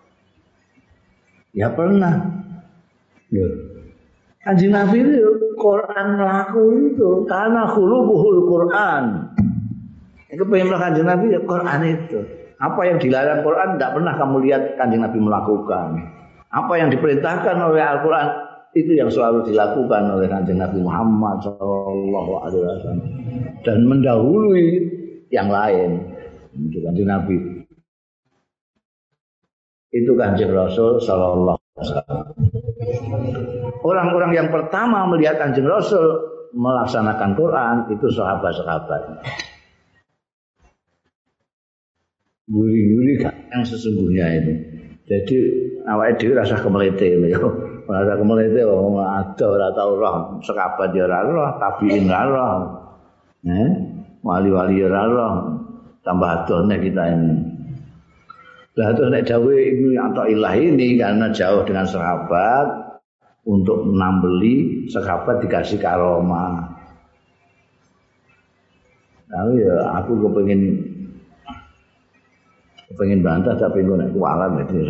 Ya pernah. Loh, Kanjeng Nabi itu Quran laku itu karena khuluquhul Quran. Itu pengen Kanjeng Nabi ya Quran itu. Apa yang dilarang Quran tidak pernah kamu lihat Kanjeng Nabi melakukan. Apa yang diperintahkan oleh Al-Quran itu yang selalu dilakukan oleh Kanjeng Nabi Muhammad Sallallahu Alaihi Wasallam dan mendahului yang lain. Itu Kanjeng Nabi. Itu Kanjeng Rasul Sallallahu Alaihi Wasallam. Orang-orang yang pertama melihat Kanjeng Rasul melaksanakan Quran itu sahabat-sahabat. Guri-guri kan yang sesungguhnya itu. Jadi awake dhewe rasa kemelete lho. Rasa kemelete wong ada ora tau roh, sahabat ya ora roh, tabiin ora roh. Eh, wali-wali ora roh. Tambah adone kita ini. Lah terus nek dawuh Ibnu Athaillah ini karena jauh dengan sahabat untuk menambeli sahabat dikasih karomah. Lalu ya aku kepengin pengen bantah tapi gue naik kualan itu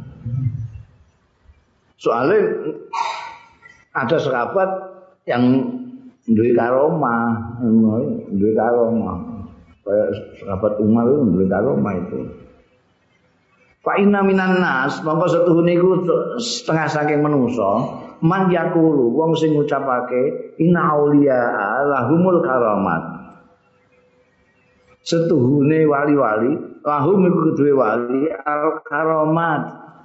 soalnya ada sahabat yang duwe karomah, duwe karomah kayak sahabat Umar itu duwe karomah itu. Fa inna minan nas mongko setuhune iku setengah saking manungsa man yaqulu wong sing ngucapake inna auliya lahumul karamat. Setuhune wali-wali lahum iku kedue wali al karamat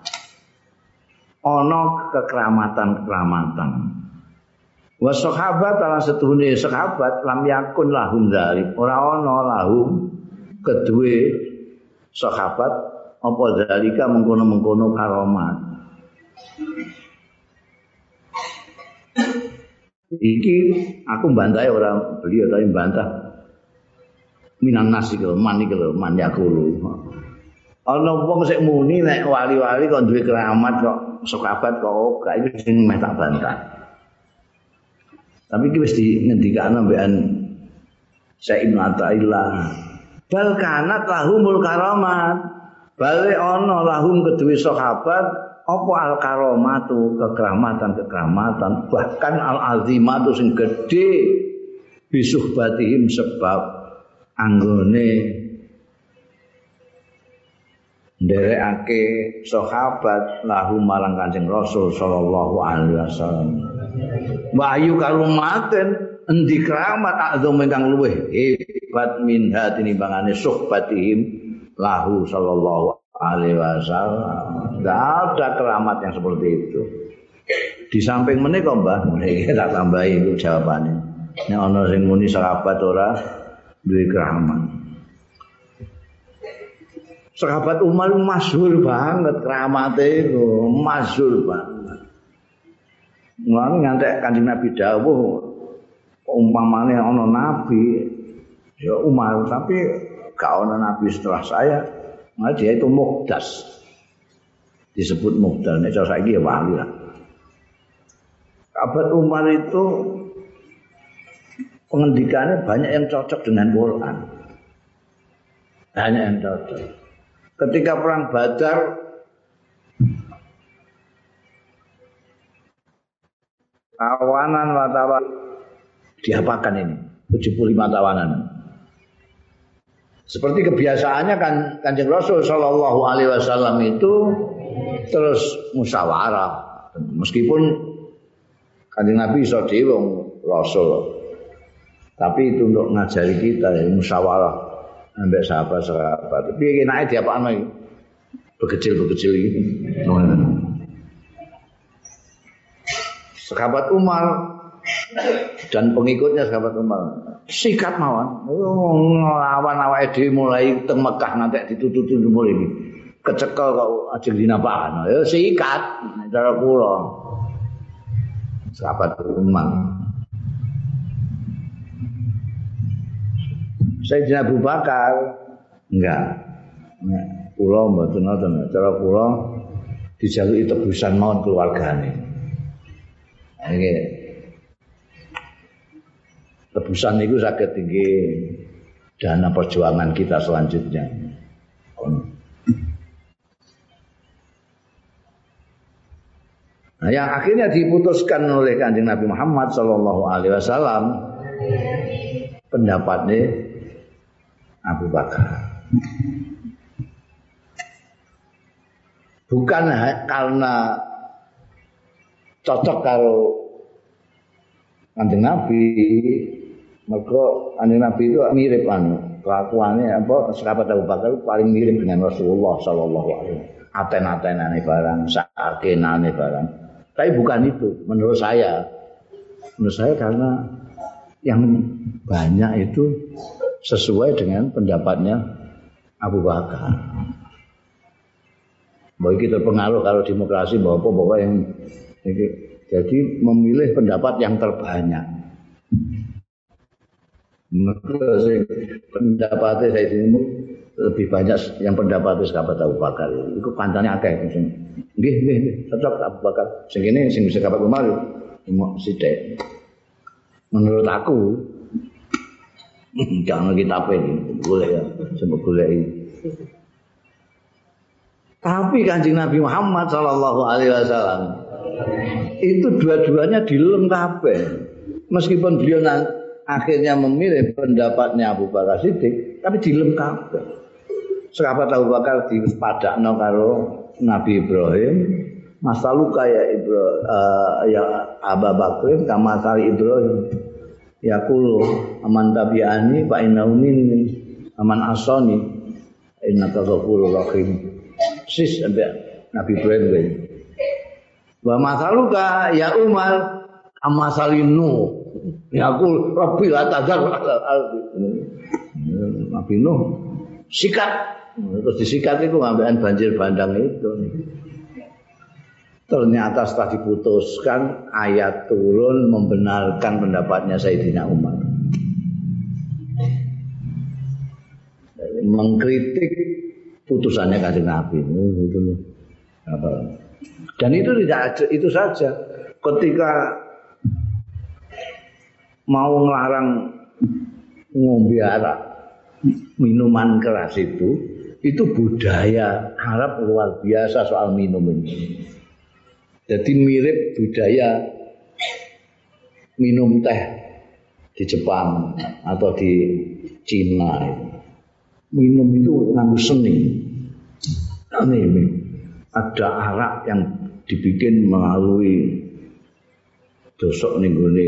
ana kekeramatan-kekeramatan. Wa sahabat lan setuhune sahabat lam yakun lahum dzalik ora ana lahum kedue sahabat apa dzalika mengkono-mengkono karamat. Iki aku bantahe ora beliau tapi bantah minan nasi kalau mani kalau man yakulu. Ana wong sik muni nek wali-wali kok duwe keramat kok sahabat kok ora iku sing meh tak bantah. Tapi iki wis dingendikane mbekan Syekh Ibnu Athaillah. Bal kanat lahumul karamat. Bale ana lahum kedue sahabat apa al karamatu kekeramatan-kekeramatan bahkan al azimatu sing gedhe bisuhbatihim sebab anggone nderekake sahabat lahu marang Kanjeng Rasul sallallahu alaihi wasallam. Wahyu karumaten endi keramat azam ingkang luweh hebat min hatinimbangane suhbatihim lahu sallallahu alaihi wasallam. Enggak ada keramat yang seperti itu. Di samping menika Mbah, iki tak tambahi itu jawabane. Nek ana sing muni sahabat ora duwe keramat. Sahabat Umar masyhur banget keramate itu, masyhur banget. Mulane ngantek Kanjeng Nabi dawuh umpamane ana nabi ya Umar tapi gak ana nabi setelah saya. Nah dia itu muqdas. Disebut muqdas nek cara saiki ya wali lah. Sahabat Umar itu pengendikannya banyak yang cocok dengan Quran. Banyak yang cocok. Ketika perang Badar kawanan wartawan diapakan ini? tujuh puluh lima tawanan. Seperti kebiasaannya kan Kanjeng Rasul sallallahu alaihi wasallam itu terus musyawarah. Meskipun Kanjeng Nabi iso dhewe wong Rasul. Tapi itu untuk ngajari kita ya musyawarah ambek sahabat-sahabat. Tapi enake diapakno iki? Bekecil-bekecil iki. Sahabat Umar dan pengikutnya sahabat Umar sikat mawon nglawan awake dhewe mulai teng Mekah nganti ditututi mulai iki kecekel kok ajeng dinapakan ya sikat cara kula sahabat Umar Sayyidina Abu Bakar enggak kula mboten ngoten cara kula dijaluki tebusan mawon keluargane iki tebusan itu saged tinggi dana perjuangan kita selanjutnya. Nah, yang akhirnya diputuskan oleh Kanjeng Nabi Muhammad sallallahu alaihi wasallam pendapatnya Abu Bakar. Bukan karena cocok karo Kanjeng Nabi, mergo Kanjeng Nabi itu mirip kan kelakuannya apa sahabat Abu Bakar paling mirip dengan Rasulullah sallallahu alaihi wasallam. Aten-atenane barang, sakenane barang. Tapi bukan itu menurut saya. Menurut saya karena yang banyak itu sesuai dengan pendapatnya Abu Bakar. Bahwa kita terpengaruh kalau demokrasi bahwa pokoknya yang jadi memilih pendapat yang terbanyak. Pendapatnya saya ini lebih banyak yang pendapatnya sahabat Abu Bakar. Itu kancane akeh. Nggih, nggih, cocok Abu Bakar. Sing kene sing sahabat Umar mau sithik. Menurut aku jangan kita pilih, boleh ya, sebab boleh. Tapi Kanjeng Nabi Muhammad sallallahu alaihi wasallam itu dua-duanya dilem kabeh. Meskipun beliau akhirnya memilih pendapatnya Abu Bakar Siddiq, tapi dilem kabeh. Sahabat Abu Bakar dipadakno karo Nabi Ibrahim, masaluka ya Ibrahim uh, ya Abu Bakar kama sari Ibrahim. Yaqulu aman tabi'ani fa innahu minni aman asani innaka ghafurur rahim. Sis Nabi Ibrahim. Wa masaluka ya Umar amasalinu yaqul rabbi la tadzar al-ardi. Nabi Nuh sikat terus disikat itu ngambekan banjir bandang itu. Ternyata setelah diputuskan ayat turun membenarkan pendapatnya Sayyidina Umar. Mengkritik putusannya Kanjeng Nabi. Dan itu tidak itu saja. Ketika mau ngelarang ngombe arak, minuman keras itu, itu budaya Arab luar biasa soal minum ini. Jadi mirip budaya minum teh di Jepang atau di Cina. Minum itu nganggo seni. Ini ada arak yang dibikin melalui dosok ning gone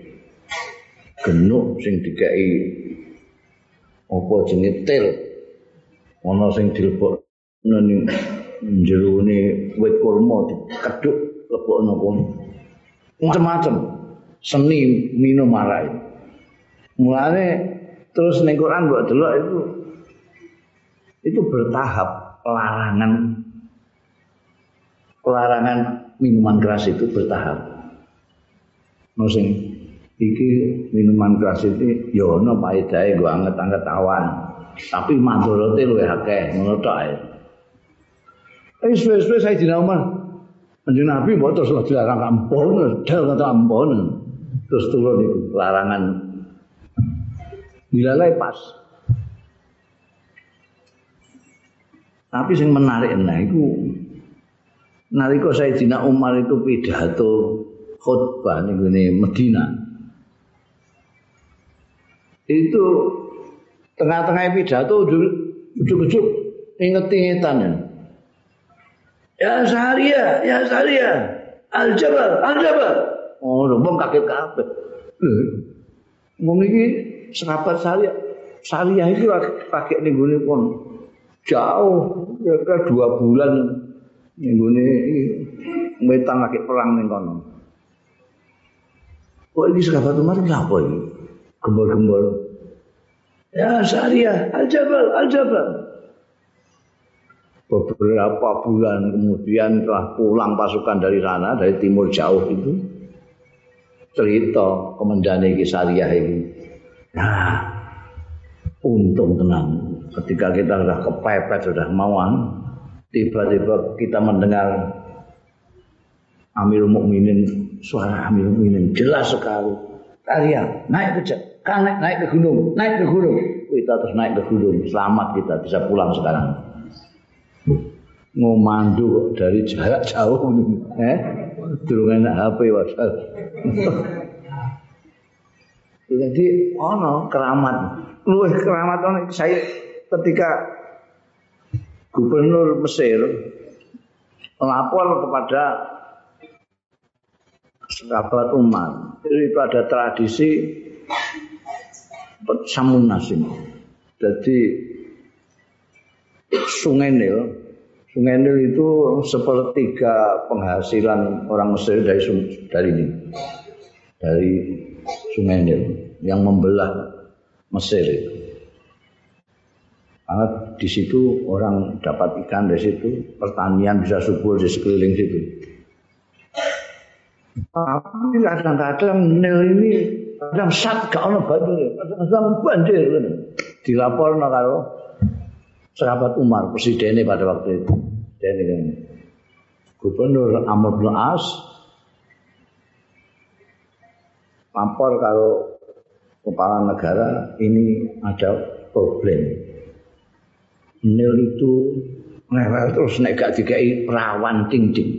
genuk sing dikai apa jenenge til. Ana sing dilebokno ning jerone wit kurma dikedhuk lebokno kono. Macam-macam seni minum arak. Mulane terus ning Quran mbok delok itu itu bertahap pelarangan pelarangan minuman keras itu bertahap. No sing iki minuman keras itu ya ono paedahe nggo anget-anget awan, tapi mandorote luwih akeh ngono tok ae. Wis wis wis Sayyidina Umar. Kanjeng Nabi mbok terus dilarang kampung, dal kata ampun. Terus turun itu larangan. Dilalai pas. Tapi yang menarik nah itu nalika Sayyidina Umar itu pidato khutbah ning ngene Madinah. itu tengah-tengah pidato ujuk-ujuk inget-ingetan ya. Ya Saria, ya Saria, Al-Jabal, Al-Jabal. Oh, wong kaget kabeh. Lho, wong iki sahabat Saria. Saria itu pakai ning gone pun jauh, kira-kira dua bulan ning gone metang lagi perang ning kono. Kok iki sahabat Umar ngapa iki? Gembor-gembor. Ya Saria, Al-Jabal, Al-Jabal. Beberapa bulan kemudian telah pulang pasukan dari sana, dari timur jauh itu, cerita komandane iki Sariyah ini. Nah, untung tenang. Ketika kita sudah kepepet, sudah mauan, tiba-tiba kita mendengar Amirul Mukminin, suara Amirul Mukminin jelas sekali. Sariyah, naik ke naik, naik ke gunung, naik ke gunung. Kita terus naik ke gunung. Selamat kita bisa pulang sekarang. Ngomandu dari jarak jauh eh durung enak H P wasal. Jadi ono keramat. Luwih keramat ono saya ketika Gubernur Mesir melapor kepada sahabat Umar. Itu ada tradisi Samun Nasim. Jadi Sungai Nil, Sungai Nil itu sepertiga penghasilan orang Mesir dari dari ini, dari Sungai Nil yang membelah Mesir itu. Karena di situ orang dapat ikan dari situ, pertanian bisa subur di sekeliling situ. Tapi kadang-kadang Nil ini kadang sat gak ono banjir, kadang banjir. Dilaporno karo sahabat Umar, presidennya pada waktu itu. Dan kan Gubernur Amr bin As lapor kalau kepala negara ini ada problem. Nil itu lewat terus nek gak dikai perawan ting-ting.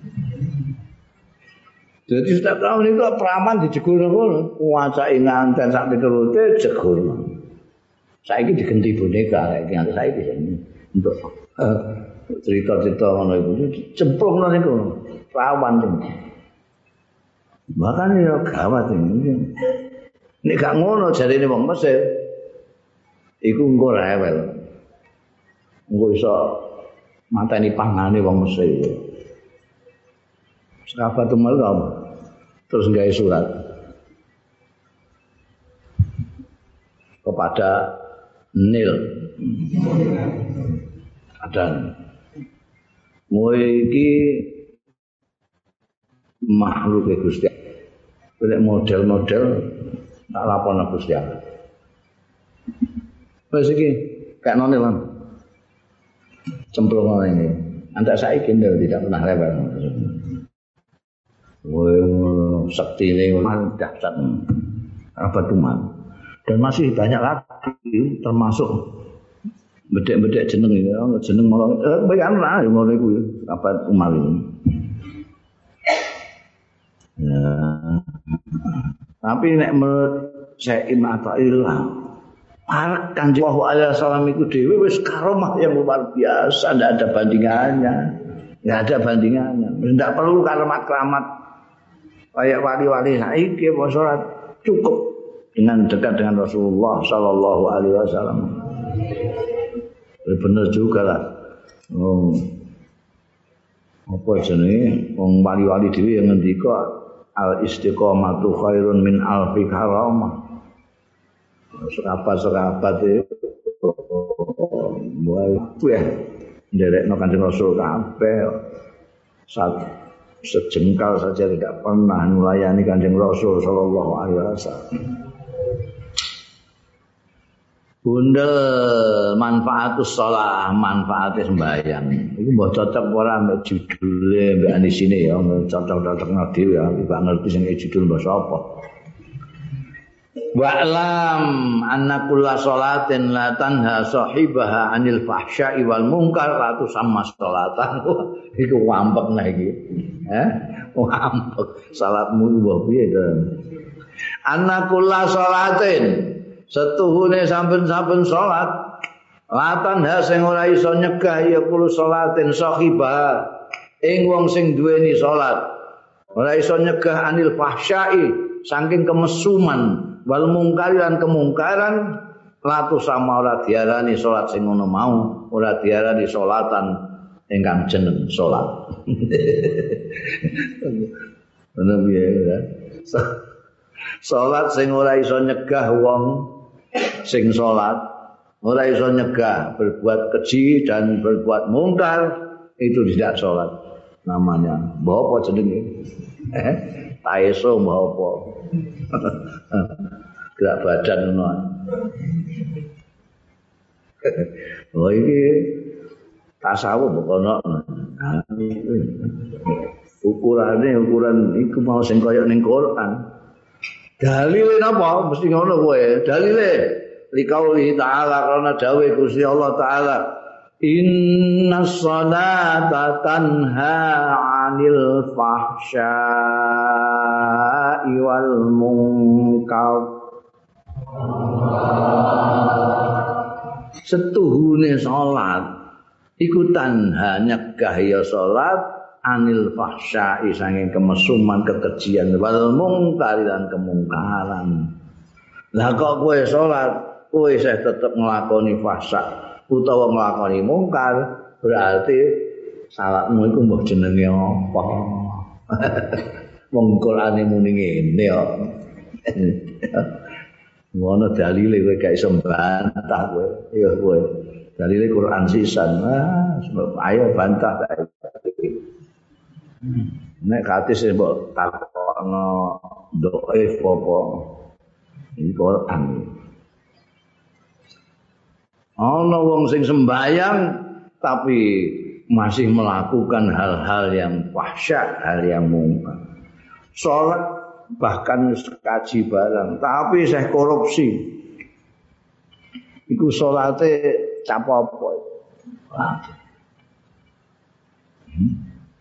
Jadi setiap tahun itu perawan dijegul ngono, kuwasai nganten sak piturute jegul. Saiki diganti boneka saiki nganti saiki untuk uh, cerita-cerita ngono iku cemplungno niku perawan niku. Bahkan ya gawat ini. Nek gak ngono jarine wong Mesir iku engko rewel. Engko iso mateni pangane wong Mesir. Sahabat Umar terus gawe surat kepada Nil. Ada mulai iki makhluk Gusti Allah. Model-model tak laporan Gusti Allah. Wes iki kayak Nil lan. Cemplung ini. Antak saiki Nil tidak pernah rewel. Woi sakti ini dahsyat. Apa tuman? Dan masih banyak lagi termasuk bedek-bedek jeneng ini, jeneng malah eh bayan lah yang ngono iku apa Umar ini. Ya. Tapi nek menurut Syekh Athaillah, para Kanjeng Sallallahu Alaihi Wasallam itu dhewe wis karomah yang luar biasa, tidak ada bandingannya. Tidak ada bandingannya. Tidak perlu keramat-keramat kayak wali-wali saiki apa salat, cukup dengan dekat dengan Rasulullah Sallallahu Alaihi Wasallam. Benar juga lah. Oh. Apa jenenge wong wali-wali dhewe yang ngendika al istiqomatu khairun min alfi karamah. Sahabat-sahabat itu mulai ya nderekno Kanjeng Rasul kabeh. Saat sejengkal saja tidak pernah melayani Kanjeng Rasul Sallallahu Alaihi Wasallam. Bundel manfaatus shalah, manfaatnya sembahyang. Iku mbok cocok ora mbek judule mbek anisine ya, cocok-cocokno dhewe ya, gak ngerti sing judul basa apa. Wa'lam anna kulla sholatin la tanha sahibaha 'anil fahsya'i wal munkar la tusamma sholatan. Iku wampek nah iki. Eh? Wampek. Salatmu mbok piye to? Anna kulla sholatin setuhune saben-saben salat latan ha sing ora iso nyegah ya kulo salatin sahibah ing wong sing duweni salat ora iso nyegah anil fahsyai saking kemesuman wal mungkar lan kemungkaran latu sama ora diarani salat sing ngono mau ora diarani salatan ingkang jeneng salat. Ngono piye ya. Salat sing ora iso nyegah wong sing salat, ora iso nyegah berbuat keji dan berbuat mungkar itu tidak salat namanya. Mbah apa jenenge? Eh, taeso mbah apa? Gerak badan ngono. Oh iki tasawuf kok ono. Ukurane ukuran iku mau sing kaya ning Quran. Dalile napa? Mesti ngono kowe. Dalile liqauli ta'ala karena dawuh Gusti Allah taala innas salata tanha 'anil fahsya'i wal munkar. Setuhune salat iku tanha nyegah ya salat anil fahsya'i saking kemesuman kekejian wal munkar lan kemungkaran. Lah kok kowe salat kowe isih tetep nglakoni fahsya utawa nglakoni mungkar berarti salatmu iku mbah jenenge apa? Wong Qur'ane muni ngene kok. Ngono dalile kowe gak iso bantah kowe. Ya kowe. Dalile Quran sisan. Ah, ayo bantah ta. Nek katis mbok takokno dhaif apa. Iki Quran. Ana wong sing sembahyang tapi masih melakukan hal-hal yang fahsya, hal yang mungkar. Salat bahkan kaji barang tapi saya korupsi iku salate capopo hmm.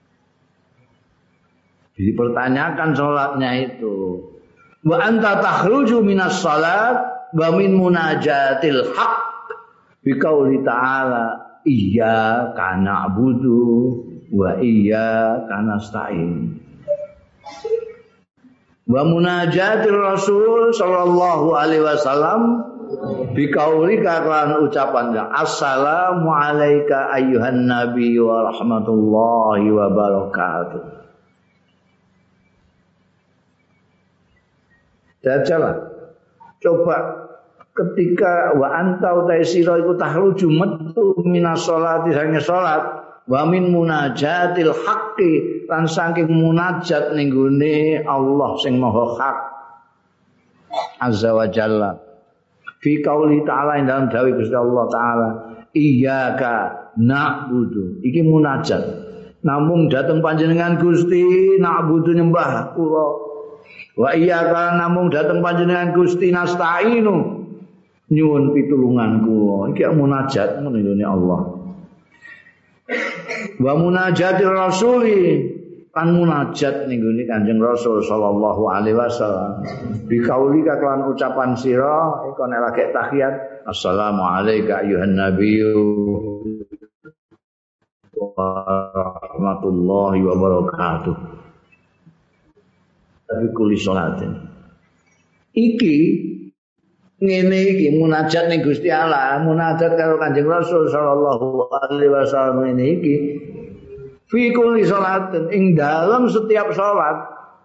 Dipertanyakan salatnya itu wa anta takhruju minas salat wa min munajatil haq bi qauli ta'ala iyyaka na'budu wa iyyaka nasta'in wa munajatir Rasul sallallahu alaihi wasallam biqaulika kan ucapannya assalamu alayka ayyuhan nabi wa rahmatullahi wa barakatuh. Dajalah coba ketika wa anta utai sira iku tahruju metu minas sholati sange salat wa min munajatil haqqi lan saking munajat ning gone Allah sing maha hak azza wa jalla fi qauli ta'ala dalam dawuh Gusti Allah taala iyyaka na'budu iki munajat namung dateng panjenengan Gusti na'budu nyembah kula wa iyyaka namung dateng panjenengan Gusti nasta'inu nyuwun pitulungan kula iki munajat ngene Allah wa munajatir rasuli kan munajat ning gone Kanjeng Rasul sallallahu alaihi wasallam bi kaulika kelan ucapan sira iku nek lagi tahiyat assalamu alayka ayyuhan nabiyyu wa rahmatullahi wa barakatuh tapi kuli salatin iki ngene iki munajat ning Gusti Allah, munajat karo Kanjeng Rasul sallallahu alaihi wasallam ngene iki. Fi kulli sholatin ing dalam setiap salat.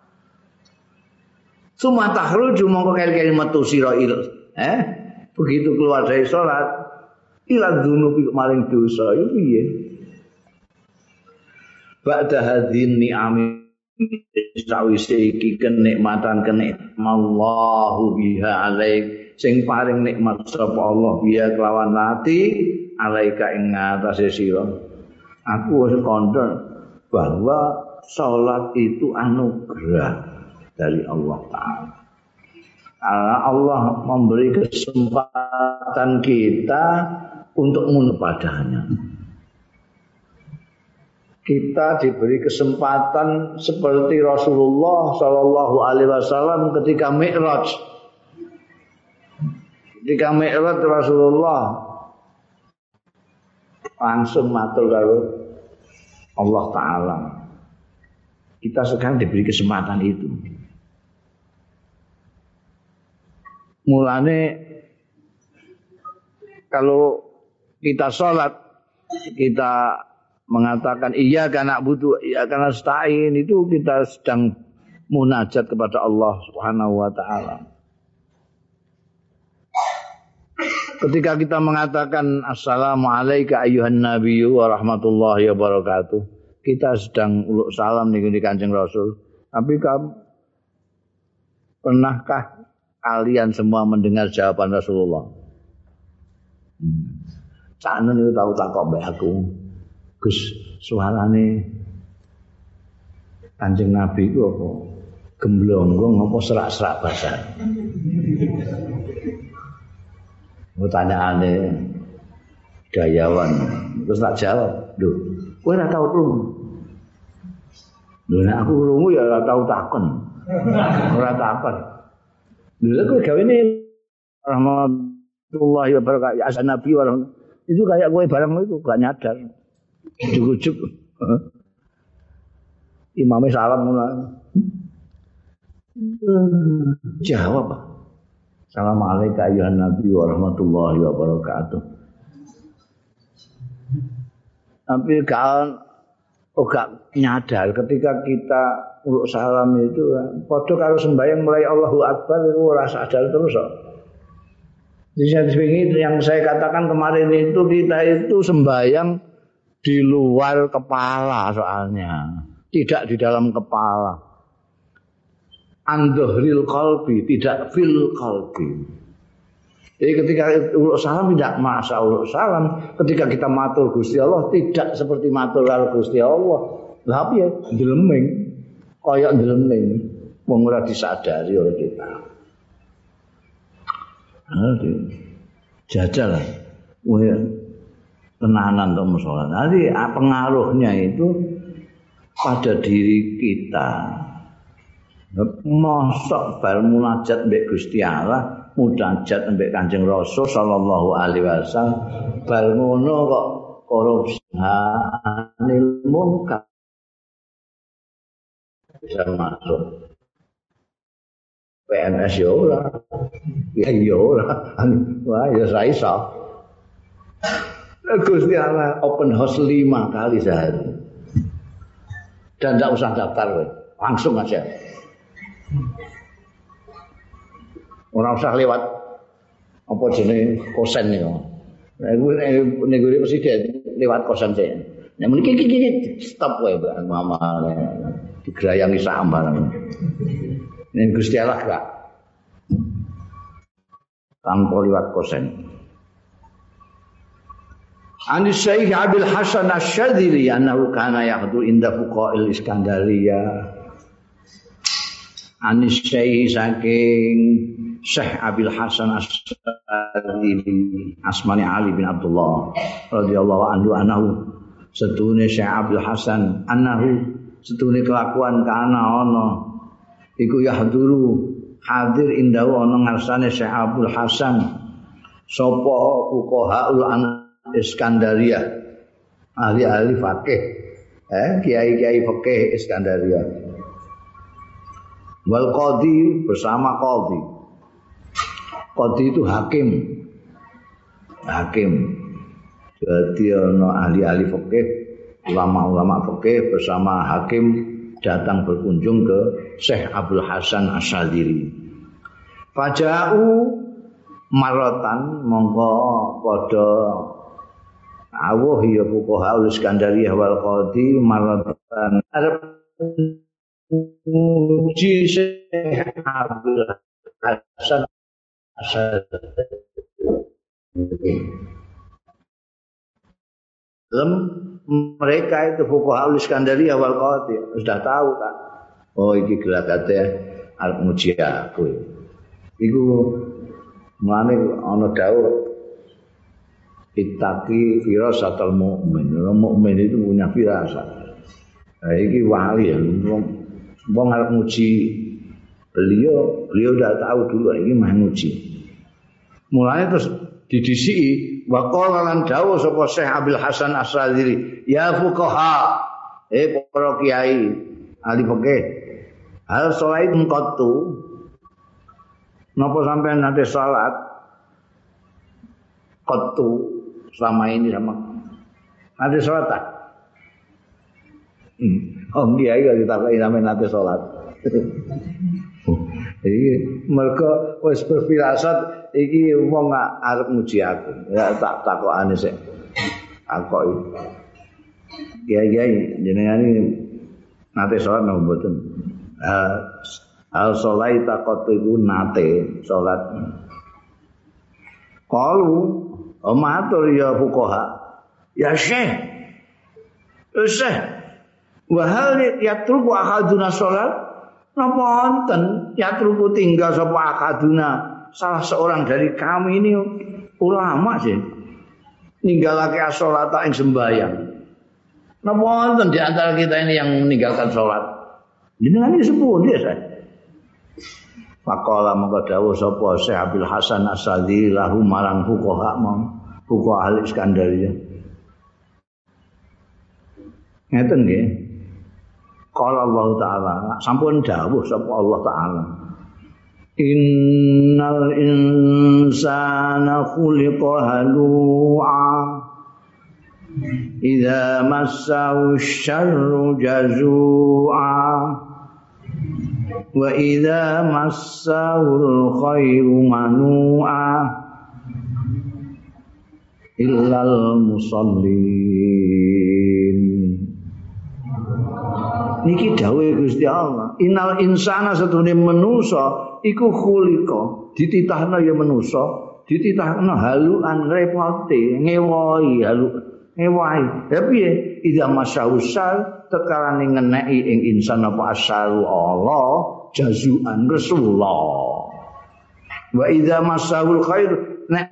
Suma tahruju mongko kali-kali metu sira il. Eh? Begitu keluar dari salat, ila dunubi maring dosa iki piye? Ba'da hadzin ni'ami sawise iki kenikmatan kenikmallahu biha alaik sing paring nikmat sapa Allah biya kelawan lati alaika ing ngatasé sira. Aku wis kandha bahwa salat itu anugerah dari Allah Taala. Allah memberi kesempatan kita untuk menurut padanya. Kita diberi kesempatan seperti Rasulullah sallallahu alaihi wasallam ketika Mi'raj. ketika Mi'raj Rasulullah langsung matur karo Allah Ta'ala. Kita sekarang diberi kesempatan itu. Mulane kalau kita sholat, kita mengatakan iya karena butuh, iya karena nasta'in, itu kita sedang munajat kepada Allah Subhanahu wa Ta'ala. Ketika kita mengatakan assalamualaikum ayyuhan nabiyyu wa rahmatullahi wa barakatuh, kita sedang uluk salam ning Kanjeng Rasul. Tapi kamu pernahkah kalian semua mendengar jawaban Rasulullah? Hmm. Sakno niku tau takok mbek aku. Gus, suarane Kanjeng Nabi ku apa? Gemblonggong apa serak-serak basah? Pertanyaane gayawan. Terus tak jawab, "Lho, kowe ora tau krungu." Lho nek aku krungu ya ora tau takon. Ora takon. Lha kowe gawene rahmatullahi wa barakatuh ya asan nabi wa itu kayak kowe barang itu gak nyadar. Ujuk-ujuk. Imamnya salam mulai. Jawab. Assalamualaikum ayyuhan nabi wa rahmatullahi wa barakatuh. Tapi kan oh gak nyadar ketika kita uluk salam itu padha karo sembahyang mulai Allahu Akbar itu ora sadar terus kok. Jadi yang saya katakan kemarin itu kita itu sembahyang di luar kepala soalnya, tidak di dalam kepala. Andhohril qalbi, tidak fil qalbi. Jadi ketika uluk salam tidak masa uluk salam, ketika kita matur Gusti Allah tidak seperti matur karo Gusti Allah. Lah piye? Ndeleming. Kaya ndeleming, wong ora disadari oleh kita. Nanti jajal lah, wah tenanan untuk musola. Nanti pengaruhnya itu pada diri kita. Mosok bar munajat mbek Gusti Allah, munajat mbek Kanjeng Rasul sallallahu alaihi wasallam, bar ngono kok korupsi anil munkar bisa masuk. P N S ya ora. Ya ya ora. Wah ya ra iso. Gusti Allah open house lima kali sehari. Dan enggak usah daftar we. Langsung aja. Ora usah lewat apa jenenge kosen niku. Nek nek presiden lewat kosen sih. Nek mriki iki stop wae Mbak Mama. Digerayangi sambarang. Nek Gusti Allah gak tanpa liwat kosen. Anis Syekh Abil Hasan Asy-Syadzili annahu kana yaqdu inda fuqa'il Iskandariyah. Anis Syekh saking Syekh Abil Hasan Asy-Syadzili asmane Ali bin Abdullah radhiyallahu anhu annahu setune Syekh Abil Hasan annahu setune kelakuan kana ana iku yahduru hadir indahu ana ngarsane Syekh Abdul Hasan sapa fuqahaul Iskandariyah ahli-ahli fikih eh kiai-kiai fikih Iskandariyah wal qadhi bersama qadhi qadhi itu hakim hakim jadi ana ahli-ahli fikih ulama-ulama fikih bersama hakim datang berkunjung ke Syekh Abdul Hasan Asy-Syadzili. Faja'u maratan mongko padha awuh ya fuqaha Iskandariyah wal qadhi maratan arep muji Syekh Abdul Hasan Asy-Syadzili. Lem mereka itu fuqaha Iskandariyah wal qadhi sudah tahu kan. Oh iki gelagate arep muji aku. Iku mane ana dawuh ittaqi firasatal mukmin. Orang mukmin itu punya firasat. Nah, iki wali ya wong wong arep muji beliau, beliau udah tahu dulu ini mah muji. Mulane terus didisiki wa qala lan dawuh sapa Syekh Abil Hasan Asy-Syadzili, ya fuqaha, eh para kiai ahli fikih, hal salat qattu napa sampean nate salat qattu selama ini sama nate salat tak? Hmm. Om kiai kok ditakoki sampean nate salat. Iki mergo wis berfirasat iki wong arep muji aku. Ya tak takokane sik. Takoki. Kiai-kiai jenengan iki nate salat napa mboten? Al salat takot iku nate salat. Qalu matur ya fuqaha. Ya Syekh. Syekh. Wa hal yatruku ahaduna salat? Napa wonten yatruku tinggal sapa akaduna salah seorang dari kami ini ulama sih ninggalake as-sholata ing sembahyang. Napa wonten di antara kita ini yang meninggalkan salat? Jenengan iki sepuh ya, Saya. Faqala mongko dawuh sapa Syekh Abil Hasan Asy-Syadzili lahu marang fuqaha mong fuqaha al-Iskandariyah. Ngeten nggih. Qala Allah Ta'ala, sampun dawuh sapa Allah Ta'ala. Innal insana khuliqa halu'a idza massahu syarru jazu'a wa idza massahu khairu manu'a illal musallin. Niki dawuh Gusti Allah, innal insana satune manusa iku khuliqa, dititahna ya manusa, dititahna haluan repote, ngewohi halu, ngewohi. Ya piye? Idza masyausal tekalane ngeneki ing insan apa asaru Allah jazuan Rasulullah. Wa idza masyahul khair nek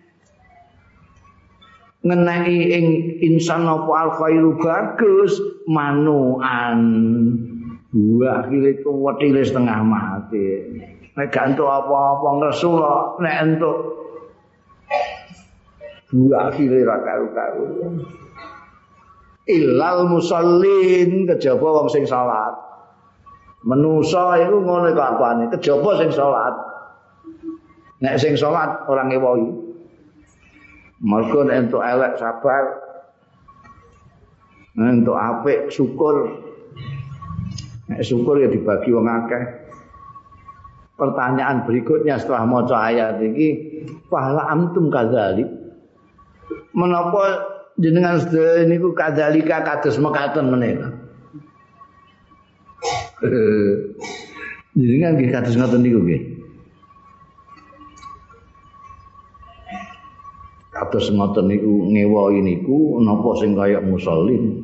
ngeneki ing insan apa al khairu bagus manuan buah kile itu wetile setengah mati nek gak entuk apa-apa Rasulullah nek entuk buah kile ra karo-karo illal musallin kejaba wong sing salat menusa iku ngono kabane kejaba sing salat nek sing salat ora ngewohi. Mergo nek entuk elek sabar, nek entuk apik syukur. Nek syukur ya dibagi wong akeh. Pertanyaan berikutnya setelah maca ayat iki, fahla antum kadzalik. Menapa jenengan sedaya niku kadzalika kados mekaten menika? Jenengan nggih kados ngoten niku nggih. Kados ngoten niku ngewohi niku napa sing kaya musallin.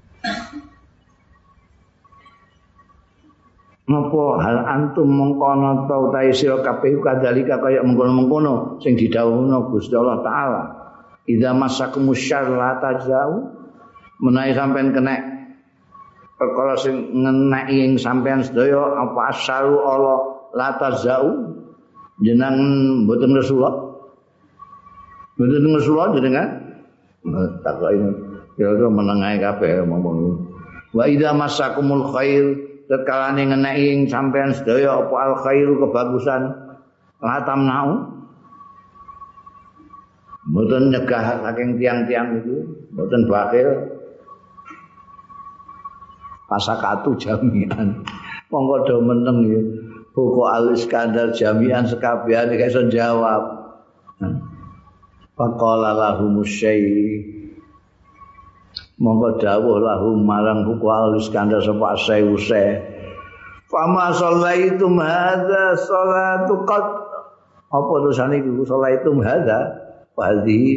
Napa hal antum mengkono ta utahe sira kabeh kadzalika kaya mengkono-mengkono sing didhawuhna Gusti Allah taala. Idza masakumus syarr la tajau menawi sampean kena perkara sing ngeneki ing sampean sedaya apa asaru Allah la tajau jeneng mboten Rasulullah. Bener Rasulullah jenengan takoki kira-kira menengae kabeh ngomong. Wa idza masakumul khair tekalane ngeneki ing sampean sedaya apa al khairu kebagusan latam nau. Mboten nyegah saking tiang-tiang itu, mboten bakil. Pasakatu jamian. Monggo do meneng ya. Pokok al-Iskandar jamian sekabehane gak iso jawab. Faqala lahum syai monggo dawuh lahum marang buku al-Iskandar sapa asai usai fama shallaitum hadza salatu qad apa tulisane iku shallaitum hadza hadhi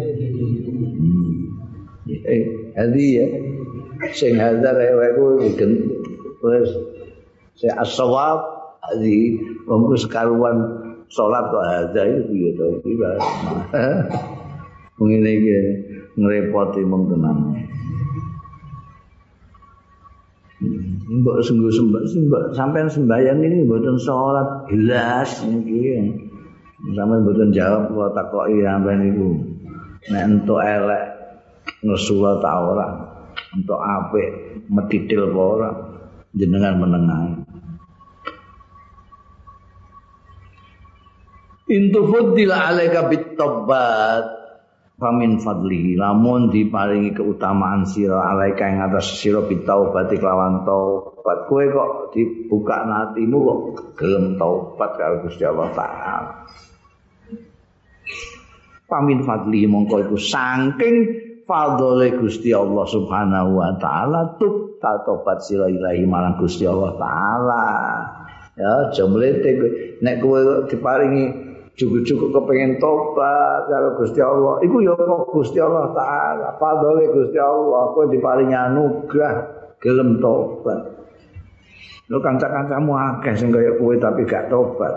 eh hadhi ya sing hadza reweku wis se as-shawab hadhi wong sekaruan salat kok hadza iki piye to iki Mas. Ngene iki ngrepoti mong tenan. Mbok sungguh sembah sampean sembahyang ini mboten salat jelas niki. Sampeyan mboten jawab kula takoki sampeyan niku. Nek entuk elek ngesuwa ta ora? Entuk apik medhidhil apa ora? Jenengan menengahi. Intu fuddil alaika bit-taubat famin fadlihi lamun diparingi keutamaan sira alaika ing atas sira bit-taubat kelawan taubat kowe kok dibuka hatimu kok gelem taubat karo Gusti Allah taala. Famin fadlihi mongko iku saking fadhole Gusti Allah Subhanahu wa taala tub taubat sira ilahi marang Gusti Allah taala. Ya jemlete nek kowe diparingi cukup-cukup kepengen tobat karo Gusti Allah. Iku ya kok Gusti Allah taala, fadhole Gusti Allah, kowe diparingi anugrah gelem tobat. Lho kanca-kancamu akeh sing kaya kowe tapi gak tobat.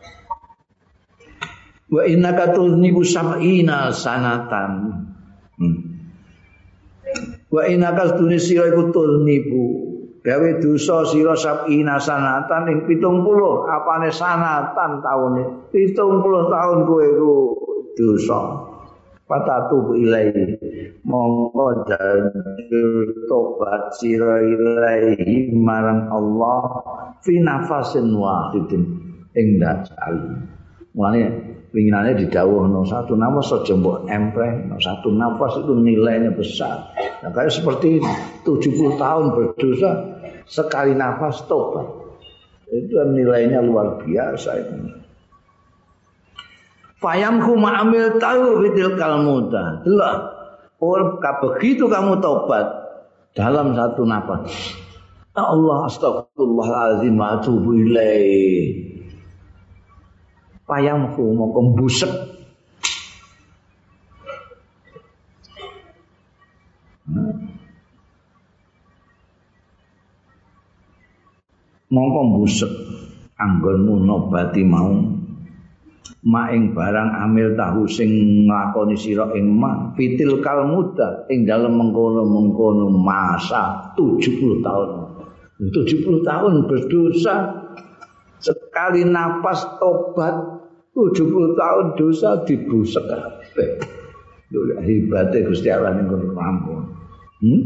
Wa innaka tuznibu sab'ina sanatan. Hmm. Wa innaka tunisira iku tuznibu gawe dosa sira sab'ina sanatan ing pitung puluh apane sanatan taune pitung puluh tahun kowe iku dosa patatu ilai mongko janjur tobat sira ilahi marang Allah fi nafasin wahidin ing dasal mulane pinginane didhawuhno satu nafas aja mbok empreh satu nafas itu nilainya besar nah kayak seperti tujuh puluh tahun berdosa sekali nafas tobat itu nilainya luar biasa itu. Fayamku ma'amil tahu fitil kalmuda lah or begitu kamu tobat dalam satu nafas Allah astagfirullahalazim wa atubu ilaih payamku mau kembusek mongko mbusek anggonmu nobati mau maing barang amil tahu sing nglakoni sira ing ma fitil kal muda ing dalem mengkono-mengkono masa tujuh puluh tahun tujuh puluh tahun berdosa sekali napas tobat tujuh puluh tahun dosa dibusek kabeh lho hebate Gusti Allah ning kono ampun hmm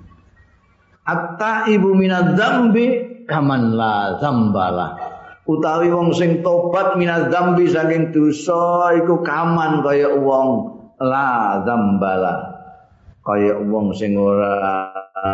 atta ibu minadz dzambi kaman la zambalah utawi wong sing tobat minaz zambi saking dosa iku kaman kaya wong la zambalah kaya wong sing ora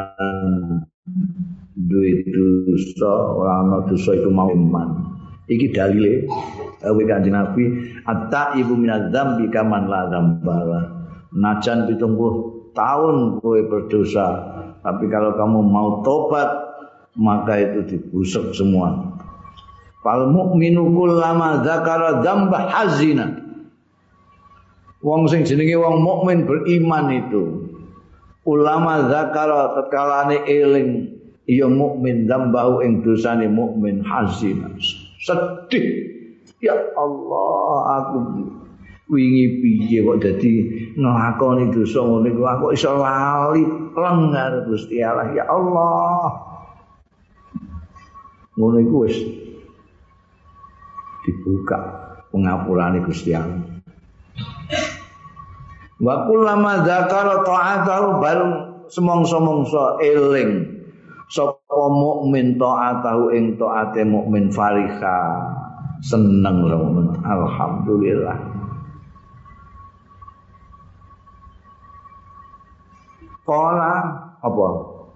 duwe dosa ora ana dosa iku mau iman iki dalile dawuh Kanjeng Nabi atta ibu minaz zambi kaman la zambalah najan pitung puluh tahun kowe berdosa tapi kalau kamu mau tobat maka itu dibusuk semua. Fal mukminu kullama dzakara dzamba hazina. Wong sing jenenge wong mukmin beriman itu ulama zakara tatkalane eling ya mukmin dzambahu ing dosane mukmin hazina. Sedih. Ya Allah aku wingi piye kok dadi nglakoni dosa ngene kok aku iso lali lenggar Gusti Allah ya Allah. Ngono iku wis dibuka pengapurane Gusti Allah. Wa kullama dzakara ta'atahu bareng semongso-mongso eling sapa mukmin ta'atahu ing taate mukmin fariha seneng lho alhamdulillah. Qala apa?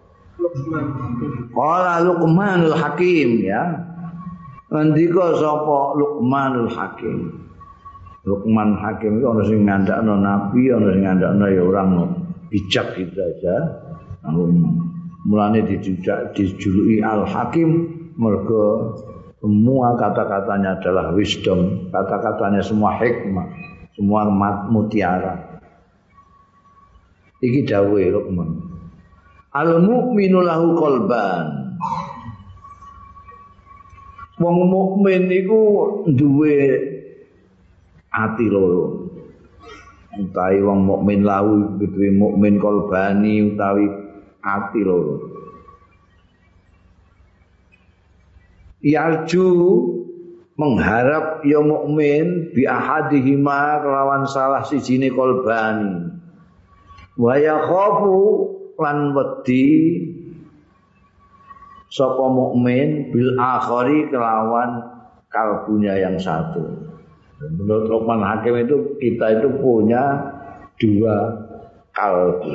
Qala Luqmanul Hakim ya. Ngendika sapa Luqmanul Hakim. Luqman Hakim itu ana sing ngandakno nabi, ana sing ngandakno ya orang bijak gitu aja. Mulane dijujak dijuluki Al Hakim mergo semua kata-katanya adalah wisdom, kata-katanya semua hikmah, semua mutiara. Iki dawuhe Luqman. Al mukminu lahu qalban. Wong mukmin iku duwe ati loro. Utawi wong mukmin lahu duwe mukmin qalbani utawi ati loro. Yarju mengharap ya mukmin bi ahadihima kelawan salah sijine kolbani wa yakhafu lan wedi sapa mukmin bil akhari kelawan kalbunya yang satu. Menurut Luqman Hakim itu kita itu punya dua kalbu.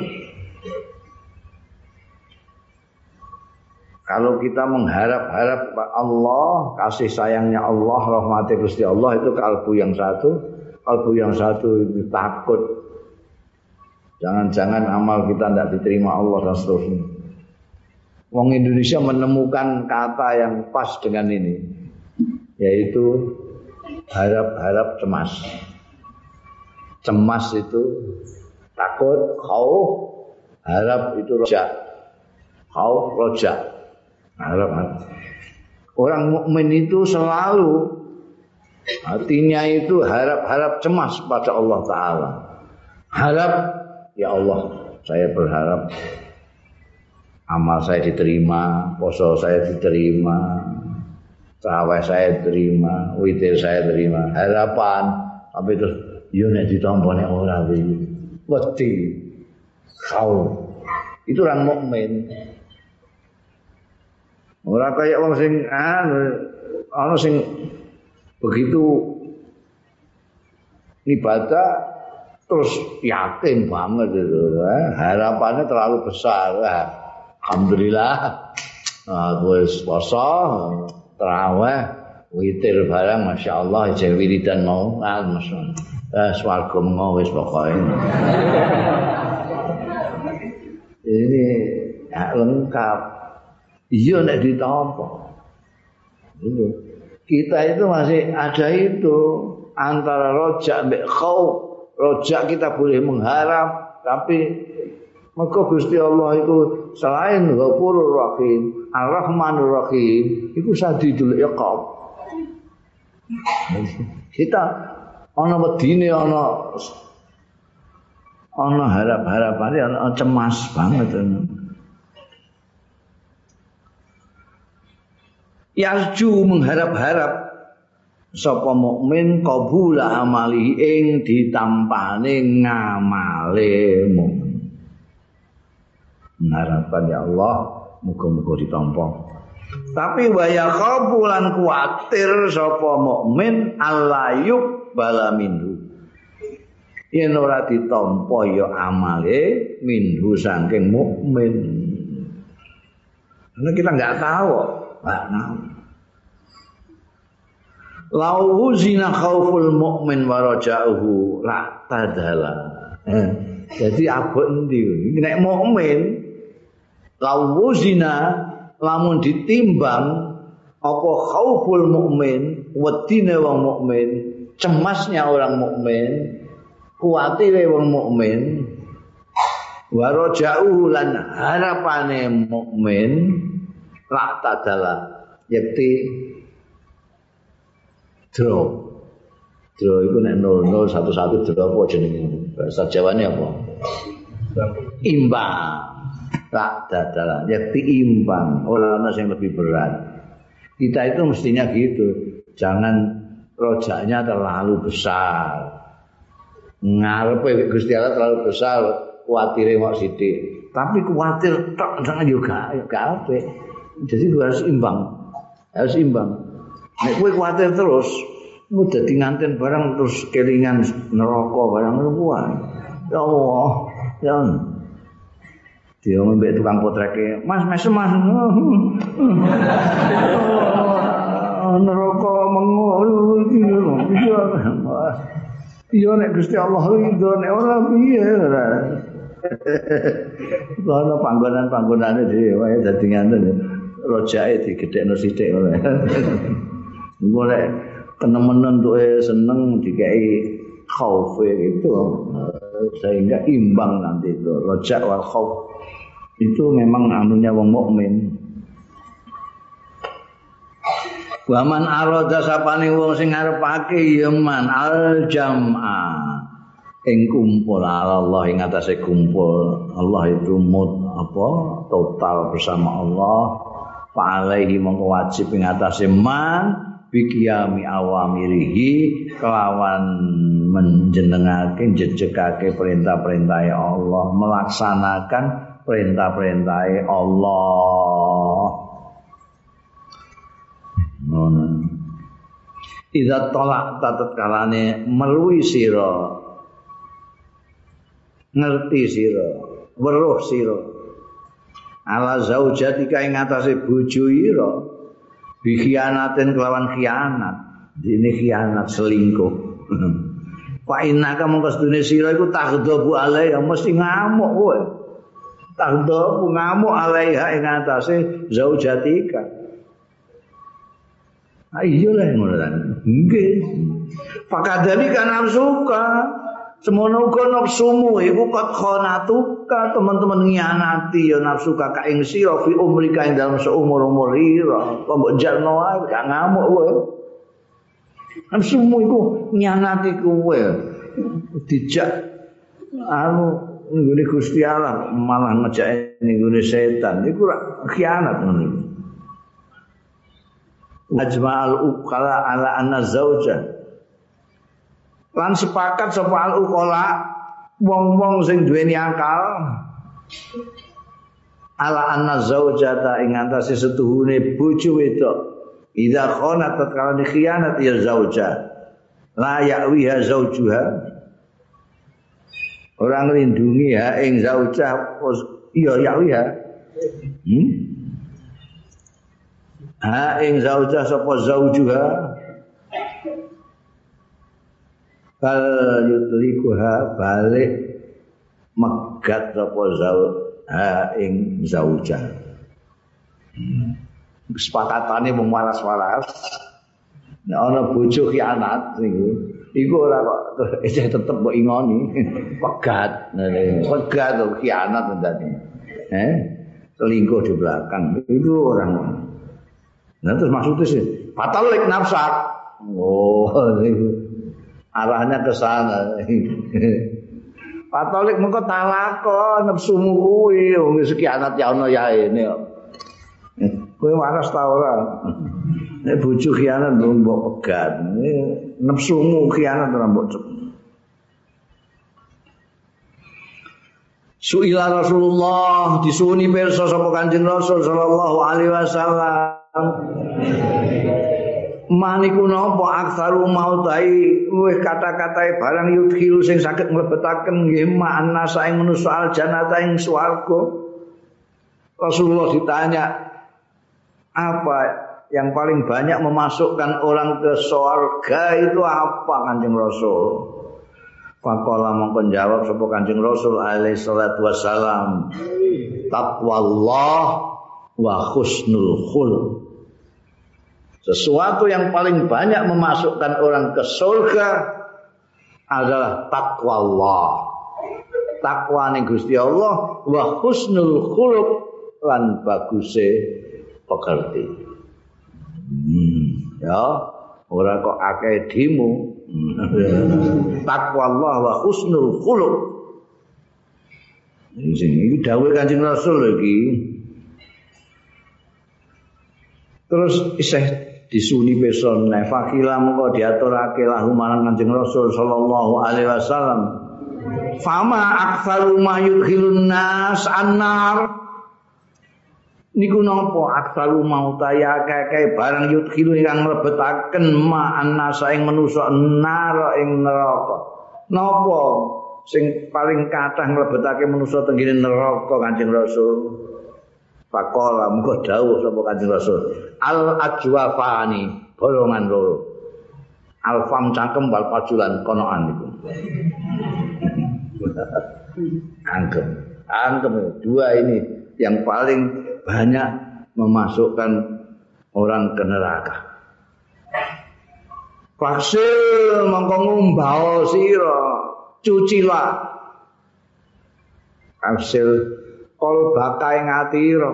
Kalau kita mengharap-harap Allah, kasih sayangnya Allah, rahmati Gusti Allah itu kalbu yang satu, kalbu yang satu itu takut. Jangan-jangan amal kita tidak diterima Allah dan seterusnya. Wong Indonesia menemukan kata yang pas dengan ini, yaitu harap-harap cemas. Cemas itu takut, khauf, harap itu roja. Khauf, roja. Harap. Orang mukmin itu selalu hatinya itu harap-harap cemas pada Allah Ta'ala. Harap, ya Allah, saya berharap amal saya diterima, poso saya diterima, tarawih saya diterima, witir saya diterima. Harapan, tapi terus yo nek ditampa nek ora iki. Wedi. Kau. Itu orang mukmin. Ora kaya wong sing ana sing begitu ibadah terus yakin banget itu, eh? Harapannya terlalu besar. Eh? Alhamdulillah, aku wis poso, tarawih, witir barang, masya Allah, ijek wiridan mau, ah, masya Allah, eh, swarga mau wis pokoknya. Ini ya, lengkap. Iya nek ditampa. Kita itu masih ada itu antara rojak mbek khauf. Rojak kita boleh mengharap, tapi maka Gusti Allah itu selain Ghafurur Rahim, Ar-Rahmanur Rahim, itu Sadidul Iqab. Kita ana wedine ana ana harap-harapane ana cemas banget. Yarju mengharap-harap sapa mukmin qabula amali ing ditampane ngamale mukmin. Mengharapkan ya Allah muga-muga ditampa. Tapi wa yakhafu lan kuwatir sapa mukmin allayuk bala minhu. Yen ora ditampa ya amale minhu saking mukmin. Karena kita enggak tahu. Lau zina khauful mukmin wa raja'uhu la tadala. Eh, jadi abot endi nek mukmin lau zina lamun ditimbang apa khauful mukmin wedine wong mukmin, cemasnya orang mukmin, kuatire wong mukmin, wa raja'uhu lan harapane mukmin la tadala yakti draw. Draw itu nek nol nol satu satu draw apa jenenge? Bahasa Jawane apa? Imbang. La tadala yakti imbang, ora ana sing lebih berat. Kita itu mestinya gitu. Jangan rojaknya terlalu besar. Ngarepe Gusti Allah terlalu besar, kuatire mok sithik. Tapi kuatir tok jangan juga ya gak apik. Jadi gue harus imbang, harus imbang. Nek gue khawatir terus, gue jadi nganten barang terus kelingan neraka barang kuat. Ya Allah, ya. Dia ngembek tukang potreke, Mas, mesem Mas. Neraka mengono iki lho. Iya nek Gusti Allah ridho nek ora piye ora. Ana panggonan-panggonane dhewe dadi nganten. Rojake digedhekno sithik ora. Engko nek kenemenan tuke seneng dikai khauf itu sehingga imbang nanti itu. Roja wal khauf itu memang anunya wong mukmin. Wa man arada sapane wong sing ngarepake ya man al jam'a ing kumpul Allah ing atase kumpul Allah itu mut apa total bersama Allah. Fa alaihi mongko wajib ing atase man biqiyami awamirihi kelawan menjenengake jejegake perintah-perintah Allah, melaksanakan perintah-perintah Allah. Ngono. Idza tolak tatat kalane meruhi sira, ngerti sira, weruh sira ala zaujatika ing atase bojo ira bi khianatin kelawan khianat, dene khianat selingkuh. Fa innaka mongko sedune sira iku taghdabu alaiha, mesti ngamuk kowe. Taghdabu ngamuk alaiha ing atase zaujatika. Ayo lah ngono kan. Nggih. Fakadali kan nafsuka. Semono uga nafsumu iku kot khonatuka, teman-teman ngianati ya nafsu ka ing sira fi umrika ing dalem seumur-umur ira. Kok mbok jalno ae gak ngamuk kowe. Nafsumu iku ngianati kowe. Dijak anu nggone Gusti Allah malah ngejake nggone setan. Iku khianat ngono. Ajma'al uqala ala anna zauja lan sepakat sapa al uqala wong-wong sing duweni akal ala anna zaujata ing antase setuhune bojo wedok idza khanat tatkala khianat ya zauja la ya'wiha zaujuha orang lindungi ha ing zauja iya ya'wiha hmm? Ha ing zauja sapa zaujuha bal yutlikuha balik megat sapa zauj ha ing zauja. Kesepakatane mung waras-waras. Nek ana bojo khianat niku iku ora kok isih tetep mbok ingoni. Pegat. Pegat kok khianat ndane. Eh selingkuh di belakang itu orang. Nah terus maksudnya sih fatalik nafsak. Oh niku arahnya ke sana. Fatalik mengko talako nafsumu kuwi wong sekianat ya ana ya ini kok. Kowe waras ta ora? Nek bojo khianat mbok pegat. Nafsumu khianat ora mbok cep. Suila Rasulullah disuni pirsa sapa Kanjeng Rasul sallallahu alaihi wasallam. Maniku napa aksaru mautai luwih kata-katae barang yudhilu sing saged mlebetaken nggih makna saing manusa al jannata ing swarga. Rasulullah ditanya apa yang paling banyak memasukkan orang ke surga itu apa Kanjeng Rasul? Faqala mongko jawab sapa Kanjeng Rasul alaihi salatu wassalam taqwallah wa husnul khuluq. Sesuatu yang paling banyak memasukkan orang ke surga adalah takwa Allah. Takwa ning Gusti Allah wa husnul khuluq lan baguse pekerti. Hmm, ya, ora kok akeh dimu. Takwa Allah wa husnul khuluq. Iki dawuh Kanjeng Rasul iki. Terus isih disuni peson fakila mengko diaturake lahu marang Kanjeng Rasul sallallahu alaihi wasallam fama aktsaru ma yudkhilun nas annar niku napa aktsaru mau taya akeh barang yudkhilu ingkang mlebetaken ma annasa ing manusa nar ing neraka napa sing paling kathah mlebetake manusa tenggene neraka Kanjeng Rasul. Faqala mengko dawuh sapa Kanjeng Rasul al ajwafani bolongan loro al fam cangkem wal pajulan konoan niku angkem angkem dua ini yang paling banyak memasukkan orang ke neraka. Faksil mongko ngumbao sira cucilah faksil kol bakai ngatira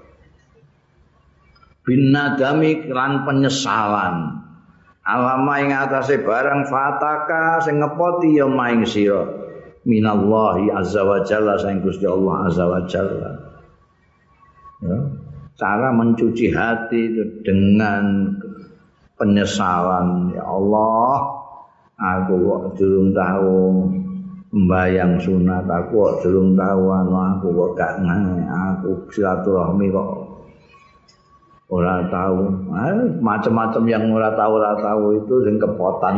bin nadami lan penyesalan alama ing atase barang fataka sing ngepoti ya maing sira minallahi azza wa jalla saing Gusti Allah azza wa jalla. Ya, cara mencuci hati itu dengan penyesalan. Ya Allah, aku kok durung tahu membayang sunat, aku kok durung tahu anu, aku kok gak ngene, aku silaturahmi kok ora tahu. Ah, macam-macam yang ora tahu ora tahu itu sing kepotan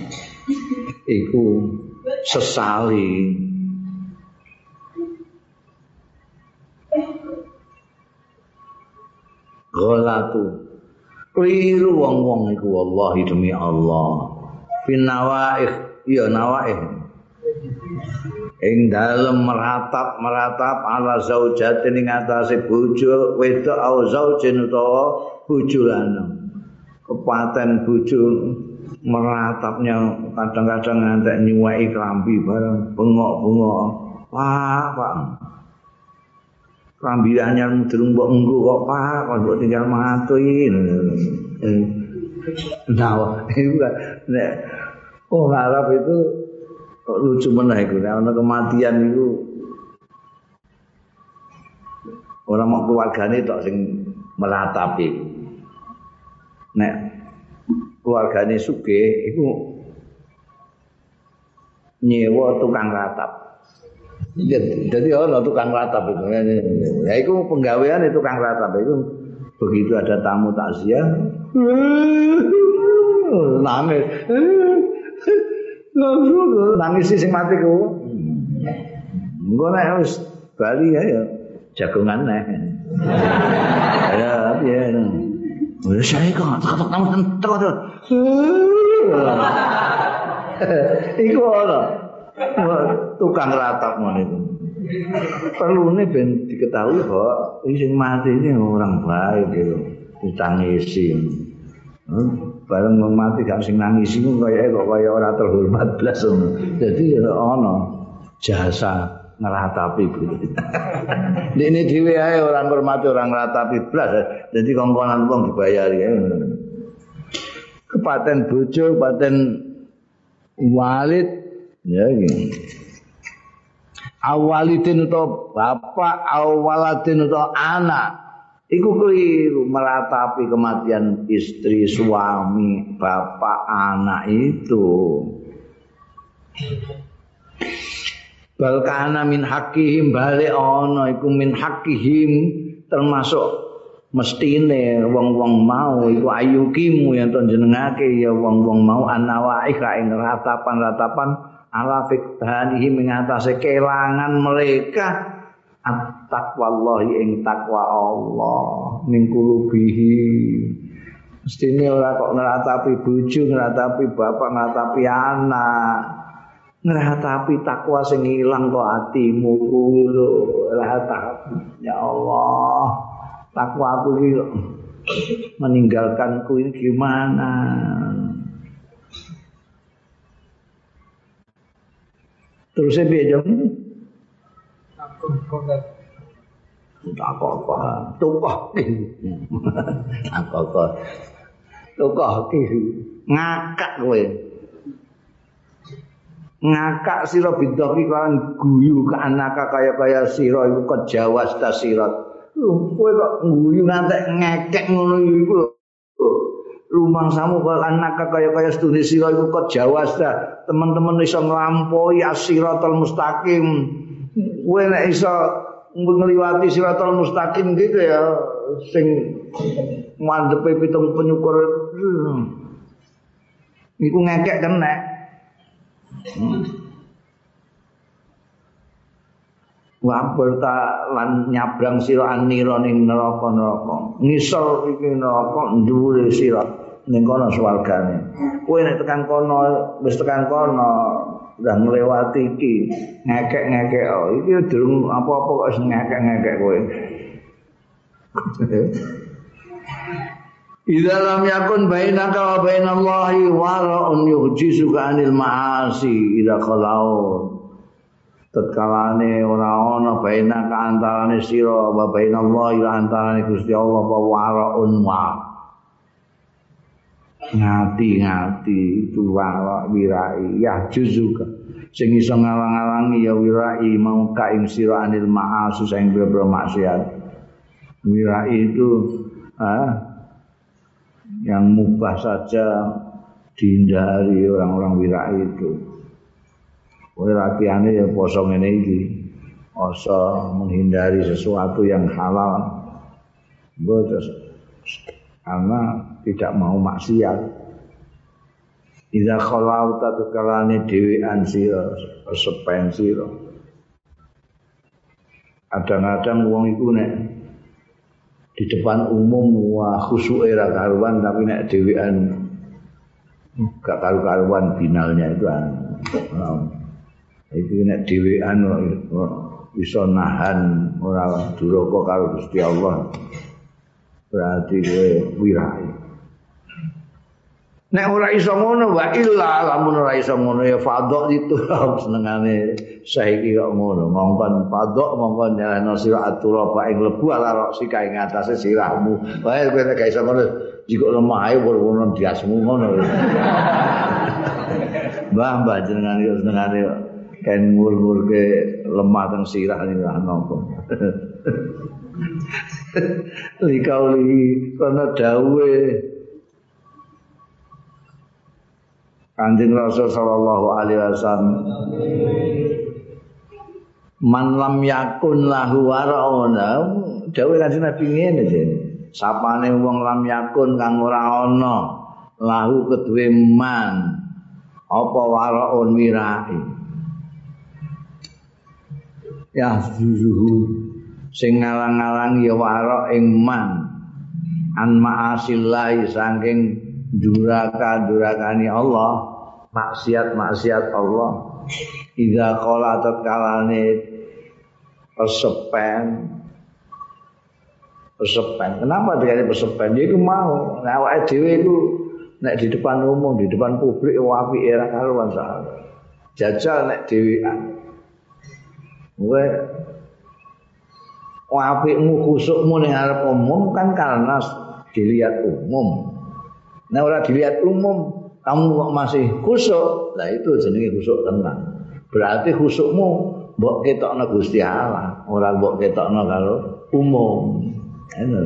iku sesali. Ghalatu keliru wong-wong iku wallahi demi Allah. Finawaih ya nawaih ing dalem meratap-meratap ala zaujatin ing atase bojo wedok au zaujin utawa bojo lanang. Kepaten bojo meratapnya kadang-kadang ngantek nyuweki klambi bareng bengok-bengok. Wah, Pak. Klambi anyar durung mbok nggo kok, Pak, kok mbok tinggal matuin. Nah, itu nek oh Arab itu lucu meneh iku, nek ana kematian iku ora mok keluargane tok sing meratapi. Nek keluargane sugih iku nyewa tukang ratap. Jadi ana tukang ratap itu. Ya iku penggawean itu tukang ratap itu begitu ada tamu takziah nangis. Nangis sing mati ku. Engko nek wis bali ya jagongan neh. Ya piye no. Wis saya kok tak tamu terus. Iku ora. Tukang ratap ngono iku. Perlune ben diketahui kok sing mati ini orang baik gitu. Ditangisi. Bareng wong mati gak sing nangis iku kaya kok kaya ora terhormat blas ngono. Dadi ana jasa ngratapi kuwi. Dene dhewe ae ora ngurmati orang ngratapi blas. Dadi kongkonan wong dibayari. Kepaten bojo, kepaten walid ya iki. Awalidin utawa bapak, awaladin utawa anak. Iku keliru meratapi kematian istri, suami, bapak, anak itu. Balkana min hakihim balik ana iku min hakihim termasuk mestine wong-wong mau iku ayukimu yang to jenengake ya wong-wong mau anawaih ka ing ratapan-ratapan ala fiqhanihim ing atase kelangan mereka at-taqwallahi ing takwa Allah min qulubihi. Mestine ora kok ngratapi bojo, ngratapi bapak, ngratapi anak, ngratapi takwa sing ilang kok atimu kuwi lho. Ya Allah, takwa aku iki meninggalkanku ini gimana? Terus saya biar aku kok tak apa tukah aku kok tukah ngakak kowe ngakak sira bidoki kan guyu ke anaka kaya-kaya sira iku kejawas ta sira kowe kok guyu ngantek ngekek ngono iku lho rumangsamu kok anaka kaya-kaya sedune sira iku kejawas ta teman-teman iso nglampaui as-siratal mustaqim. Kowe nek iso ngliwati siratal mustaqim gitu ya sing mandhepe pitung penyukur iku ngekek kena. Wapur ta lan nyabrang sira anira ning neraka-neraka. Ngisor iki neraka dhuwure sira ning kono swargane. Kowe nek tekan kono wis tekan kono udah nglewati iki ngekek-ngekek oh iki durung apa-apa kok wis ngekek-ngekek kowe. Idza lam yakun bainaka wa bainallahi wara'un yuhjisuka anil ma'asi idza khalau. Tatkalane ora ana bainaka antarane sira wa bainallahi lan antarane Gusti Allah wa wara'un wa. Ngati-ngati itu wala wirai ya juzuka sing iso ngalang-alangi ya wirai mau ka ing sira anil ma'asi sing boro maksiat. Wirai itu ah yang mubah saja dihindari orang-orang wirai itu. Oleh latihannya ya poso ngene iki. Oso menghindari sesuatu yang halal. Terus karena tidak mau maksiat. Idza khalauta tukalane dhewean sira, sepen sira. Kadang-kadang wong iku nek di depan umum wah khusyuke ra karuan tapi nek dhewean gak karu-karuan binalnya itu an. Itu nek dhewean bisa nahan ora duraka karo Gusti Allah. Berarti kowe wirai. Nek ora iso ngono wa illa lamun ora iso ngono ya fadhok itu senengane saiki kok ngono ngongkon fadhok mongkon nyalano sira atura bae mlebu ala roksi kae ngatasé sirahmu. Wae kowe nek gak iso ngono jiko lemah ae ngono diasmu ngono. Mbah-mbah jenengan yo senengane kan mur-murke lemah teng sirah niku napa. Likauli kana dawuhe Kanjeng Rasul sallallahu alaihi wasallam man lam yakun lahu warauna dawuh Kanjeng Nabi ngene jenenge sapane wong lam yakun kang ora ana lahu kedue man apa waraun wirai ya zuzuhu sing ngalang-alang ya wara ing man an ma'asillahi saking duraka-durakani Allah maksiat-maksiat Allah idza qala tatkalane persepen persepen kenapa dikane persepen ya iku mau nek awake dhewe iku nek di depan umum di depan publik apike ora karuan sak jajal nek dhewean kowe apikmu khusukmu ning arep umum kan karena dilihat umum. Nah ora dilihat umum, kamu kok masih khusuk. Lah itu jenenge khusuk tenan. Berarti khusukmu mbok ketokno Gusti Allah, ora mbok ketokno karo umum. Ngono.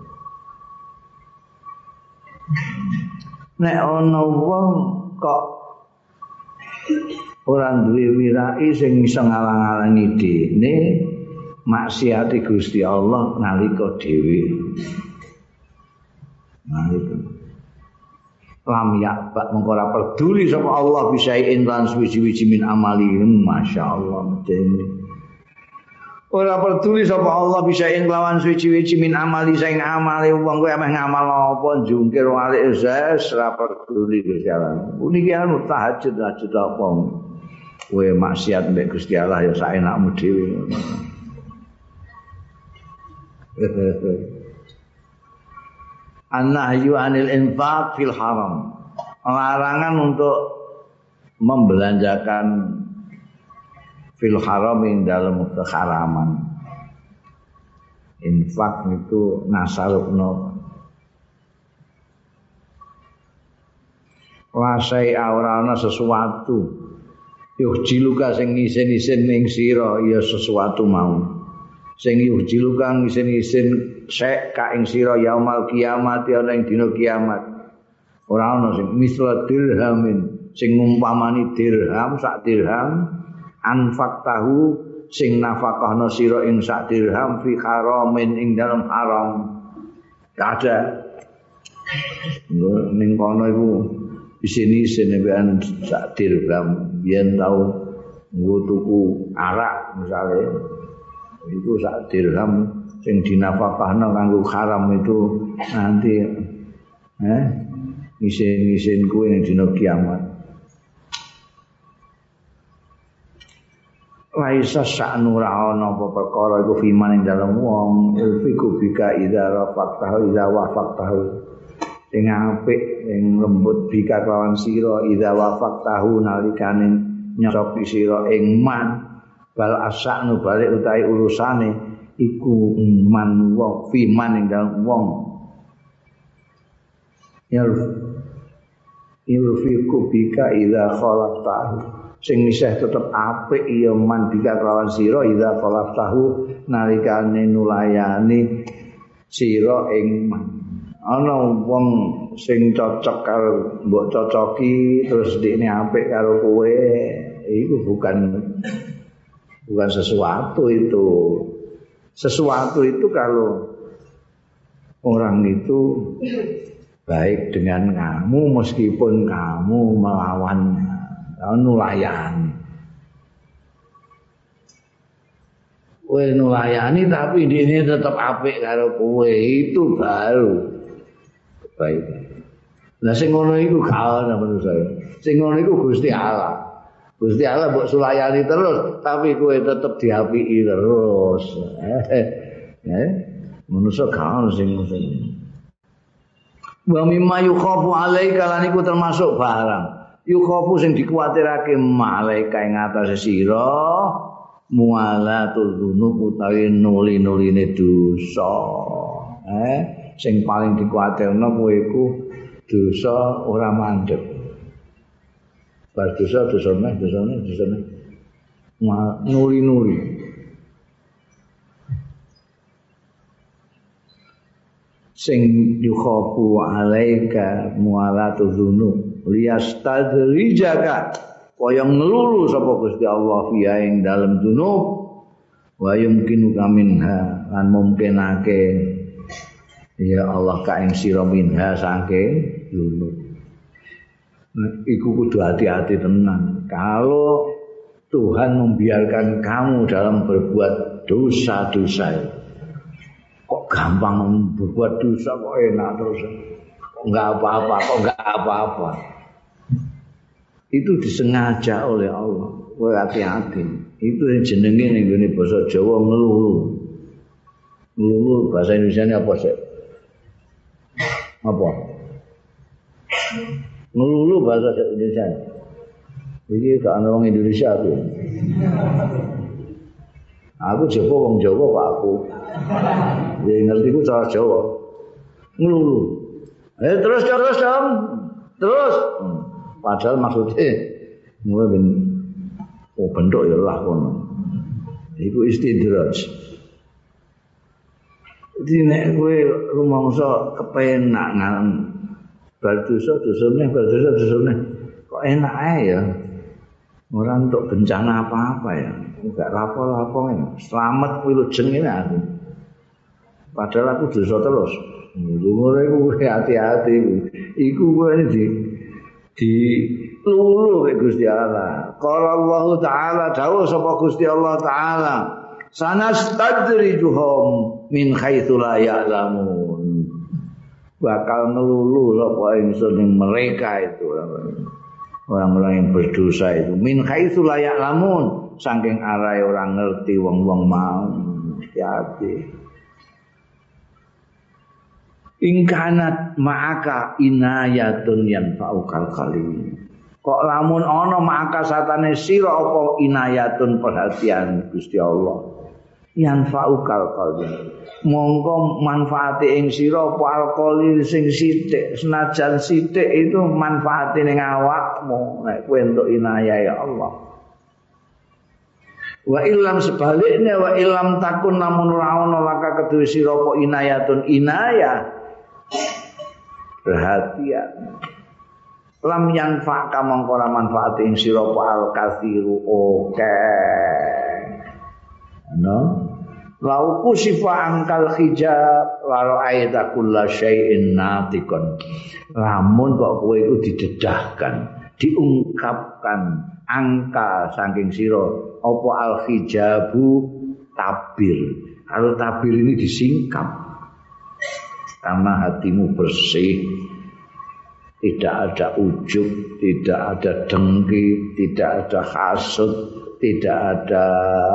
Nek ana wong kok ora duwe wirai sing iso ngalang-alangi dene maksiati Gusti Allah nalika dhewe. Nah itu. Lam yakbak mengko ora peduli sapa Allah bisain lan suwi-wiji min amali masyaallah dene. Ora peduli sapa Allah bisain lawan suwi-wiji min amali sing amale wong kowe ameh ngamal apa jungkir walik zes ora peduli Gusti Allah. Puniki anu tahajud tahajud apa. Kowe maksiat mbek Gusti Allah ya saenakmu dhewe. An-nahyu 'anil infaq fil haram. Larangan untuk membelanjakan fil haram ing dalam keharaman. Infak itu nasarukno. Wasai ora ana sesuatu. Yuh jiluka sing isin-isin ning sira ya sesuatu mau. Sing yuh jiluka isin-isin sek ka ing sira yaumul kiamat ana ing dina kiamat ora ana sing misla dirhamin sing ngumpamani dirham sak dirham anfaq tahu sing nafakahna sira ing sak dirham fi haramin ing dalam haram kada ning kono iku isin-isin mbekan sak dirham yen tau nggo tuku arak misale itu sak dirham sing dinafakahna kanggo haram itu nanti eh isin-isin kuwi ning dina kiamat. Laisa sa'nu ra ana apa perkara iku fiman ing dalem wong ilfiku bika idza rafaqtahu idza wafaqtahu sing apik sing lembut bika lawan sira idza wafaqtahu nalikane nyocoki sira ing man bal asa'nu balik utahe urusane iku man wong fiman ing dalem wong yurfiku bika idza khalaqtahu sing isih tetep apik ya man bika kelawan sira idza khalaqtahu nalikane nulayani sira ing man ana wong sing cocok karo mbok cocoki terus dekne apik karo kowe itu bukan bukan sesuatu itu. Sesuatu itu kalau orang itu baik dengan kamu meskipun kamu melawannya, kamu nulayani. Kowe nulayani tapi ini tetap apik karo kowe itu baru baik. Lah sing ngono iku gak ana menurut saya. Sing ngono iku Gusti Allah. Gusti Allah mbok sulayani terus tapi kowe tetep diapiki terus. Eh, eh, manusa gak ana sing ngono. Wa mimma yukhafu alaika lan iku termasuk barang. Yukhafu sing dikuwatirake malaika ing atase sira mualatul dzunub utawi nuli-nuline dosa. Eh, sing paling dikuwatirno kowe iku dosa ora mandeg. Bar dosa dosane dosane dosane nuli-nuli. Sing yukhafu alaika mualatul dzunub liyastadrijaka kaya ngelulu sapa Gusti Allah fiha ing dalem dzunub wa yumkinu kaminha lan mungkinake ya Allah ka ing sira minha saking dzunub. Iku kudu hati-hati tenan. Kalau Tuhan membiarkan kamu dalam berbuat dosa-dosa, kok gampang berbuat dosa kok enak terus, kok enggak apa-apa, kok enggak apa-apa. Itu disengaja oleh Allah. Kowe hati-hati. Itu yang jenenge ning gone basa Jawa ngelulu. Ngelulu bahasa Indonesianya apa sih? Apa? Ngelulu bahasa Indonesia. Iki gak ana wong Indonesia aku. Aku Jawa wong Jawa kok aku. Ya ngerti ku cara Jawa. Ngelulu. Eh terus terus dong. Terus. Padahal maksudnya mulai ben oh bentuk ya lah kono. Iku istidraj. Jadi nek kowe rumangsa kepenak nang bar dosa-dosane bar dosa-dosane kok enak ae ya. Ora entuk bencana apa-apa ya. Enggak lapo-lapo ya. Selamat wilujeng ngene aku. Padahal aku dosa terus. Ngono iku hati-hati. Iku kowe di di lulu ke Gusti Allah. Qala Allah Ta'ala dawuh sapa Gusti Allah Ta'ala sanastadrijuhum min haitsu la ya'lamun. Bakal ngelulu sapa ingsun ing mereka itu orang-orang yang berdosa itu min haitsu la ya'lamun saking arahe orang ngerti wong-wong mau. Hati-hati. Ingkanat ma'aka inayatun yanfa'ukal kalim. Kok lamun ana ma'aka satane sira apa inayatun perhatian Gusti Allah. Yanfa'ukal kalim. Monggo manfaate ing sira apa alqali sing sithik, senajan sithik itu manfaate ning awakmu nek kowe entuk inayah ya Allah. Wa illam sebaliknya wa illam takun namun ora ana laka kedue sira apa inayatun inayah perhatian lam yanfa ka mongko ora manfaat ing sira al kathiru oke no lauku sifa angkal hijab laro aida kulla syai'in natikon lamun kok kowe iku didedahkan diungkapkan angka saking sira apa al hijabu tabir kalau tabir ini disingkap karena hatimu bersih, tidak ada ujub, tidak ada dengki, tidak ada hasud, tidak ada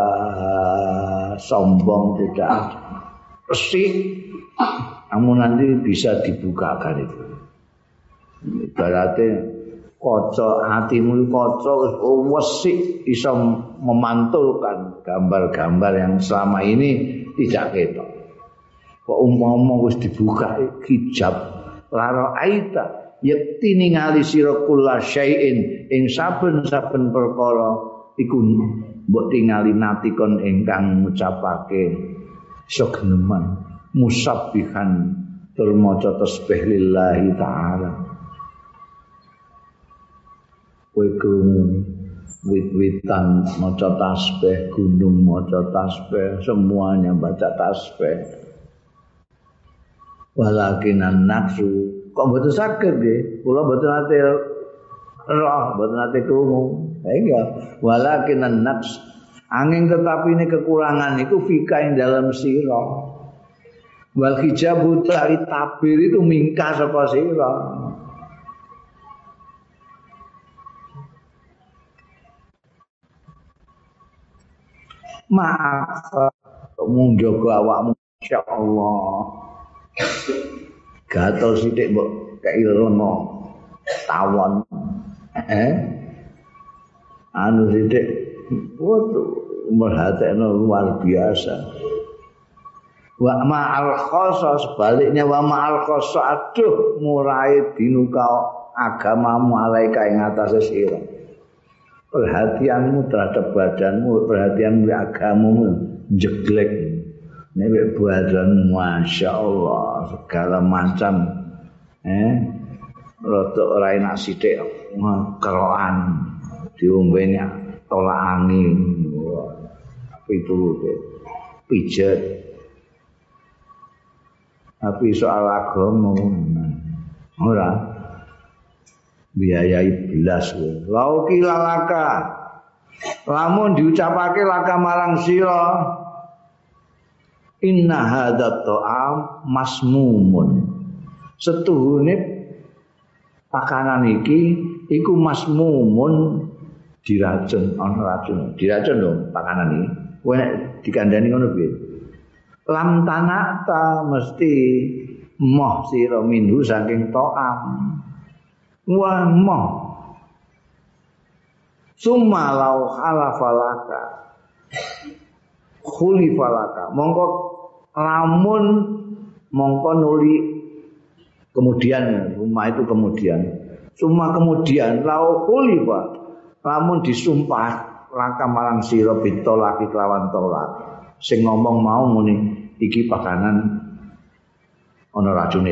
sombong, tidak ada bersih. Kamu nanti bisa dibukakan itu. Ibaratnya kaca hatimu kaca wesik bisa memantulkan gambar-gambar yang selama ini tidak ketok. Kok umpama wis dibuka hijab lara aita yakti ningali sira kula syai'in ing saben-saben perkara iku mbok tingali natikon ingkang ngucapake segeneman musabbihan tur maca tasbih lillahi taala. Kowe krungu wit-witan maca tasbih, gunung maca tasbih, semuanya baca tasbih. Walakinan nafsu kok mboten saged nggih, kula mboten nate roh, mboten nate krungu. Ha iya, walakinan nafs angin tetapi ini kekurangan itu fika ing dalam sira. Wal hijabu dari tabir itu mingkar saka sira. Maaf, kamu jaga awakmu, insyaallah. Gatel sithik mbok kei lengo tawon. Eh? Anu sithik waduh merhatekno luar biasa. Wa ma'al khoso sebaliknya wa ma'al khoso aduh murai dinuka agamamu alaika ing atase sira. Perhatianmu terhadap badanmu, perhatianmu agamamu jeglek. Nek badan Masya Allah segala macam eh rada ora enak sithik kerokan diombenya tolak angin itu pijet. Tapi soal agama ora biayai belas lauki lalaka lamun diucapake laka marang sira inna hadza ta'am masmumun setuhune pakanan iki iku masmumun diracun ana racun diracun lho pakanan iki kowe nek dikandani ngono piye lam tanata mesti moh sira minhu saking ta'am wa moh summa lau halafalaka khulifalaka mongko lamun mongko nuli kemudian rumah itu kemudian summa kemudian lau khulifa lamun disumpah laka marang sira bitolak lawan tolak sing ngomong mau muni iki pakanan ana racune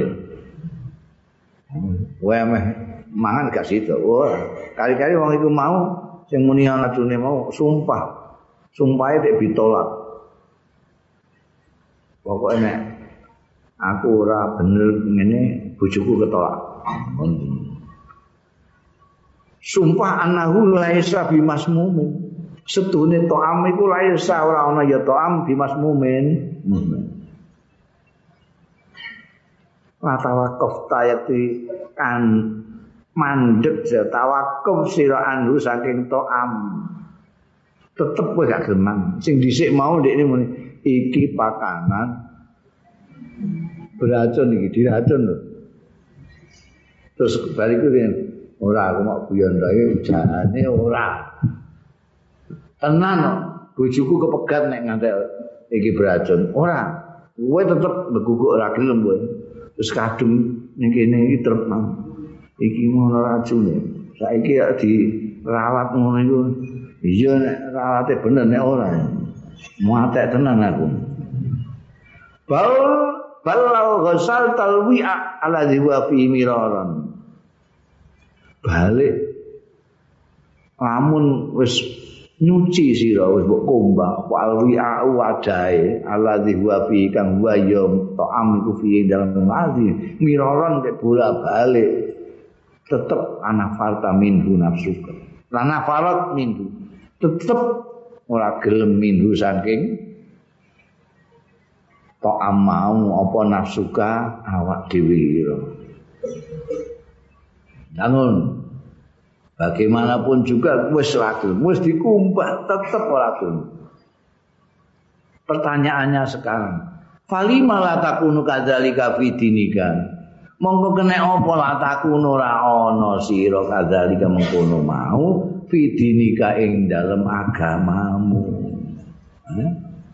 wae meh mangan gak sida. Wah, kali-kali wong iku mau sing muni racune mau sumpah. Sumpahe nek ditolak. Pokoke nek aku ora bener ngene bojoku ketolak. Sumpah annahu laisa bimasmumin. Setune to'am iku laisa ora ana ya to'am bimasmumin. Watawakuf tayati kan mandek ya tawakuf sira anhu saking to'am tetep kowe gak gelem sing dhisik mau ndekne muni iki pakanan beracun iki diracun lho terus bariku yen ora aku mau guyon ta iki jane ora tenan bojoku kepegat nek ngantek iki beracun ora kowe tetep beguguk ora gelem kowe terus kadung ning kene iki trep iki ngono racune saiki ya dirawat ngono iku iya nek rawate bener nek ora muatek tenan aku bal balau ghasal talwi'a ala wa fi miraran balik lamun wis nyuci sira wis mbok kombah apa alwi'a wadahe ala wa fi kang wa ya ta'am iku fi dalam ngazi miraran ke bola-balik tetep ana farta minhu nafsuka lana farat minhu tetep ora gelem minhu saking ta'am mau apa nafsuka awak dhewe namun bagaimanapun juga wis ora gelem wis dikumbah tetep ora gelem pertanyaannya sekarang falima la takunu kadzalika fi dinika monggo kena apa lataku ora ana sira kadzalika mengkono mau fidinika ing dalem agamamu. Eh?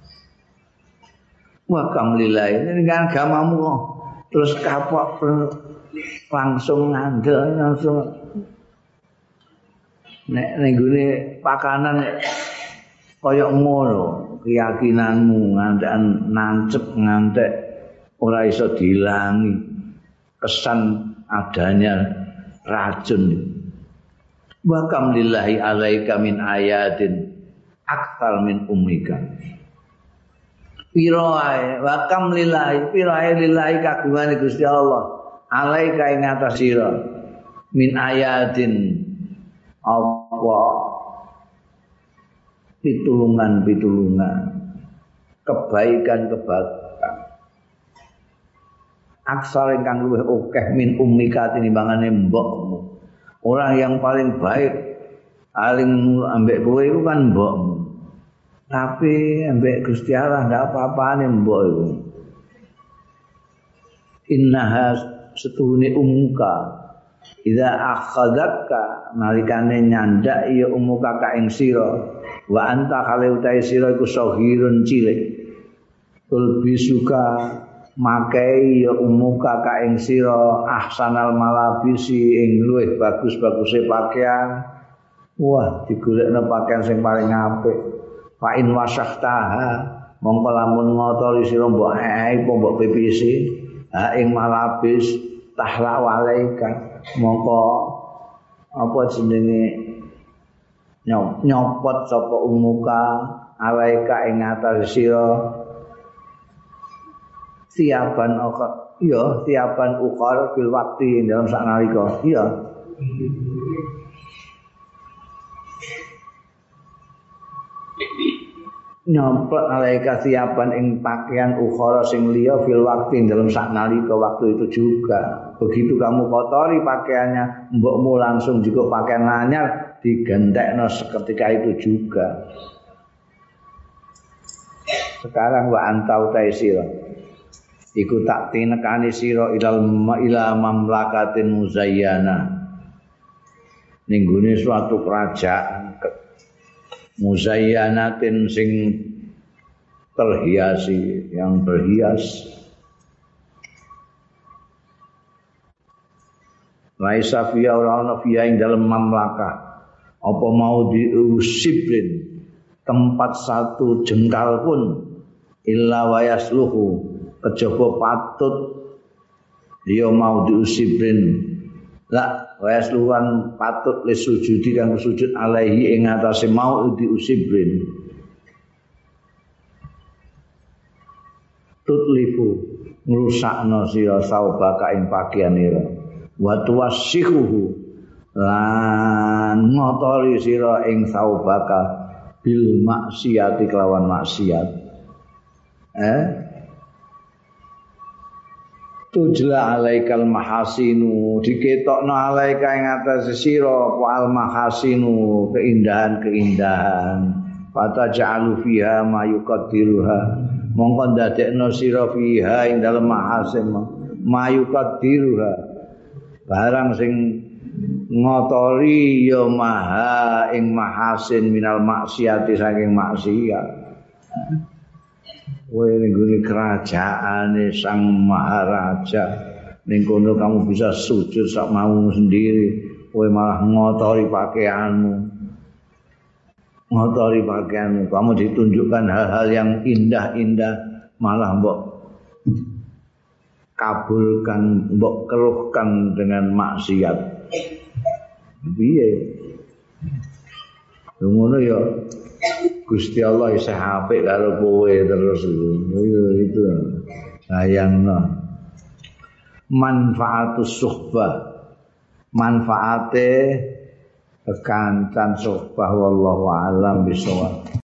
Wa kamlilahi ning agamamu kok terus kapok langsung ngandel langsung nek ning gone pakanan kaya ngono keyakinanmu ngantek nancep ngantek ora iso diilangi kesan adanya racun. Wa kam lillahi alaika min ayatin aktsar min ummika. Pirae wa kam lillahi pirae lillahi kagungane Gusti Allah alaika ing atas sira min ayatin apa pitulungan-pitulungan kebaikan-kebaikan aksar ingkang luwih akeh min ummika tinimbangane mbokmu. Orang yang paling baik paling ambek kowe iku kan mbokmu. Tapi ambek Gusti Allah ndak apa-apane mbok iku. Innaha setuhune ummuka idza akhadaka nalikane nyandak ya ummuka ka ing sira wa anta kale utahe sira iku saghirun cilik. Tul bisuka makai ya umuka ka ing sira ahsanal malabisi ing luwih bagus-baguse pakaian. Wah, digolekno pakaian sing paling apik. Fa in wasahtaha mongko lamun ngotori sira mbok ae apa mbok pipisi ha ing malabis tahla walaika mongko apa jenenge nyopot sapa umuka alaika ing atas sira siapan ukhar iya siapan ukhar fil waktu dalam sak nalika iya nyomplok alaika siapan ing pakaian ukhara sing liya fil waktu dalam sak nalika waktu itu juga. Begitu kamu kotori pakaiannya mbokmu langsung juga pakaian anyar digentekno seketika itu juga. Sekarang wa antau taisira iku tak tinekani sira ilal ila mamlakatin muzayyana ning gone suatu kerajaan muzayyanatin sing terhiasi yang berhias laisa fiya ora ana fiya ing dalem mamlakah apa mau diusibrin tempat satu jengkal pun illa wayasluhu kejaba patut dia mau diusibrin la wayasluhan patut le sujudi kang sujud alaihi ing atase mau diusibrin tutlifu ngrusakno sira saubaka ing pakaianira wa tuwassihuhu lan ngotori sira ing saubaka bil maksiati kelawan maksiat eh tujla alaikal mahasinu diketokno alaika ing atase sira al mahasinu keindahan-keindahan fata ja'alu fiha ma yuqaddiruha mongko ndadekno sira fiha ing dalem mahasin ma yuqaddiruha barang sing ngotori ya maha ing mahasin minal maksiati saking maksiat. Kowe ning gone kerajaane Sang Maharaja ning kono kamu bisa sujud sak maumu sendiri, kowe malah ngotori pakaianmu. Ngotori pakaianmu, kamu ditunjukkan hal-hal yang indah-indah malah mbok kabulkan, mbok keruhkan dengan maksiat. Piye? Ngono ya. Gusti Allah isih apik karo kowe terus yo itu sayangno manfaatus suhbah manfaate kekancan suhbah wallahu alam bisawab.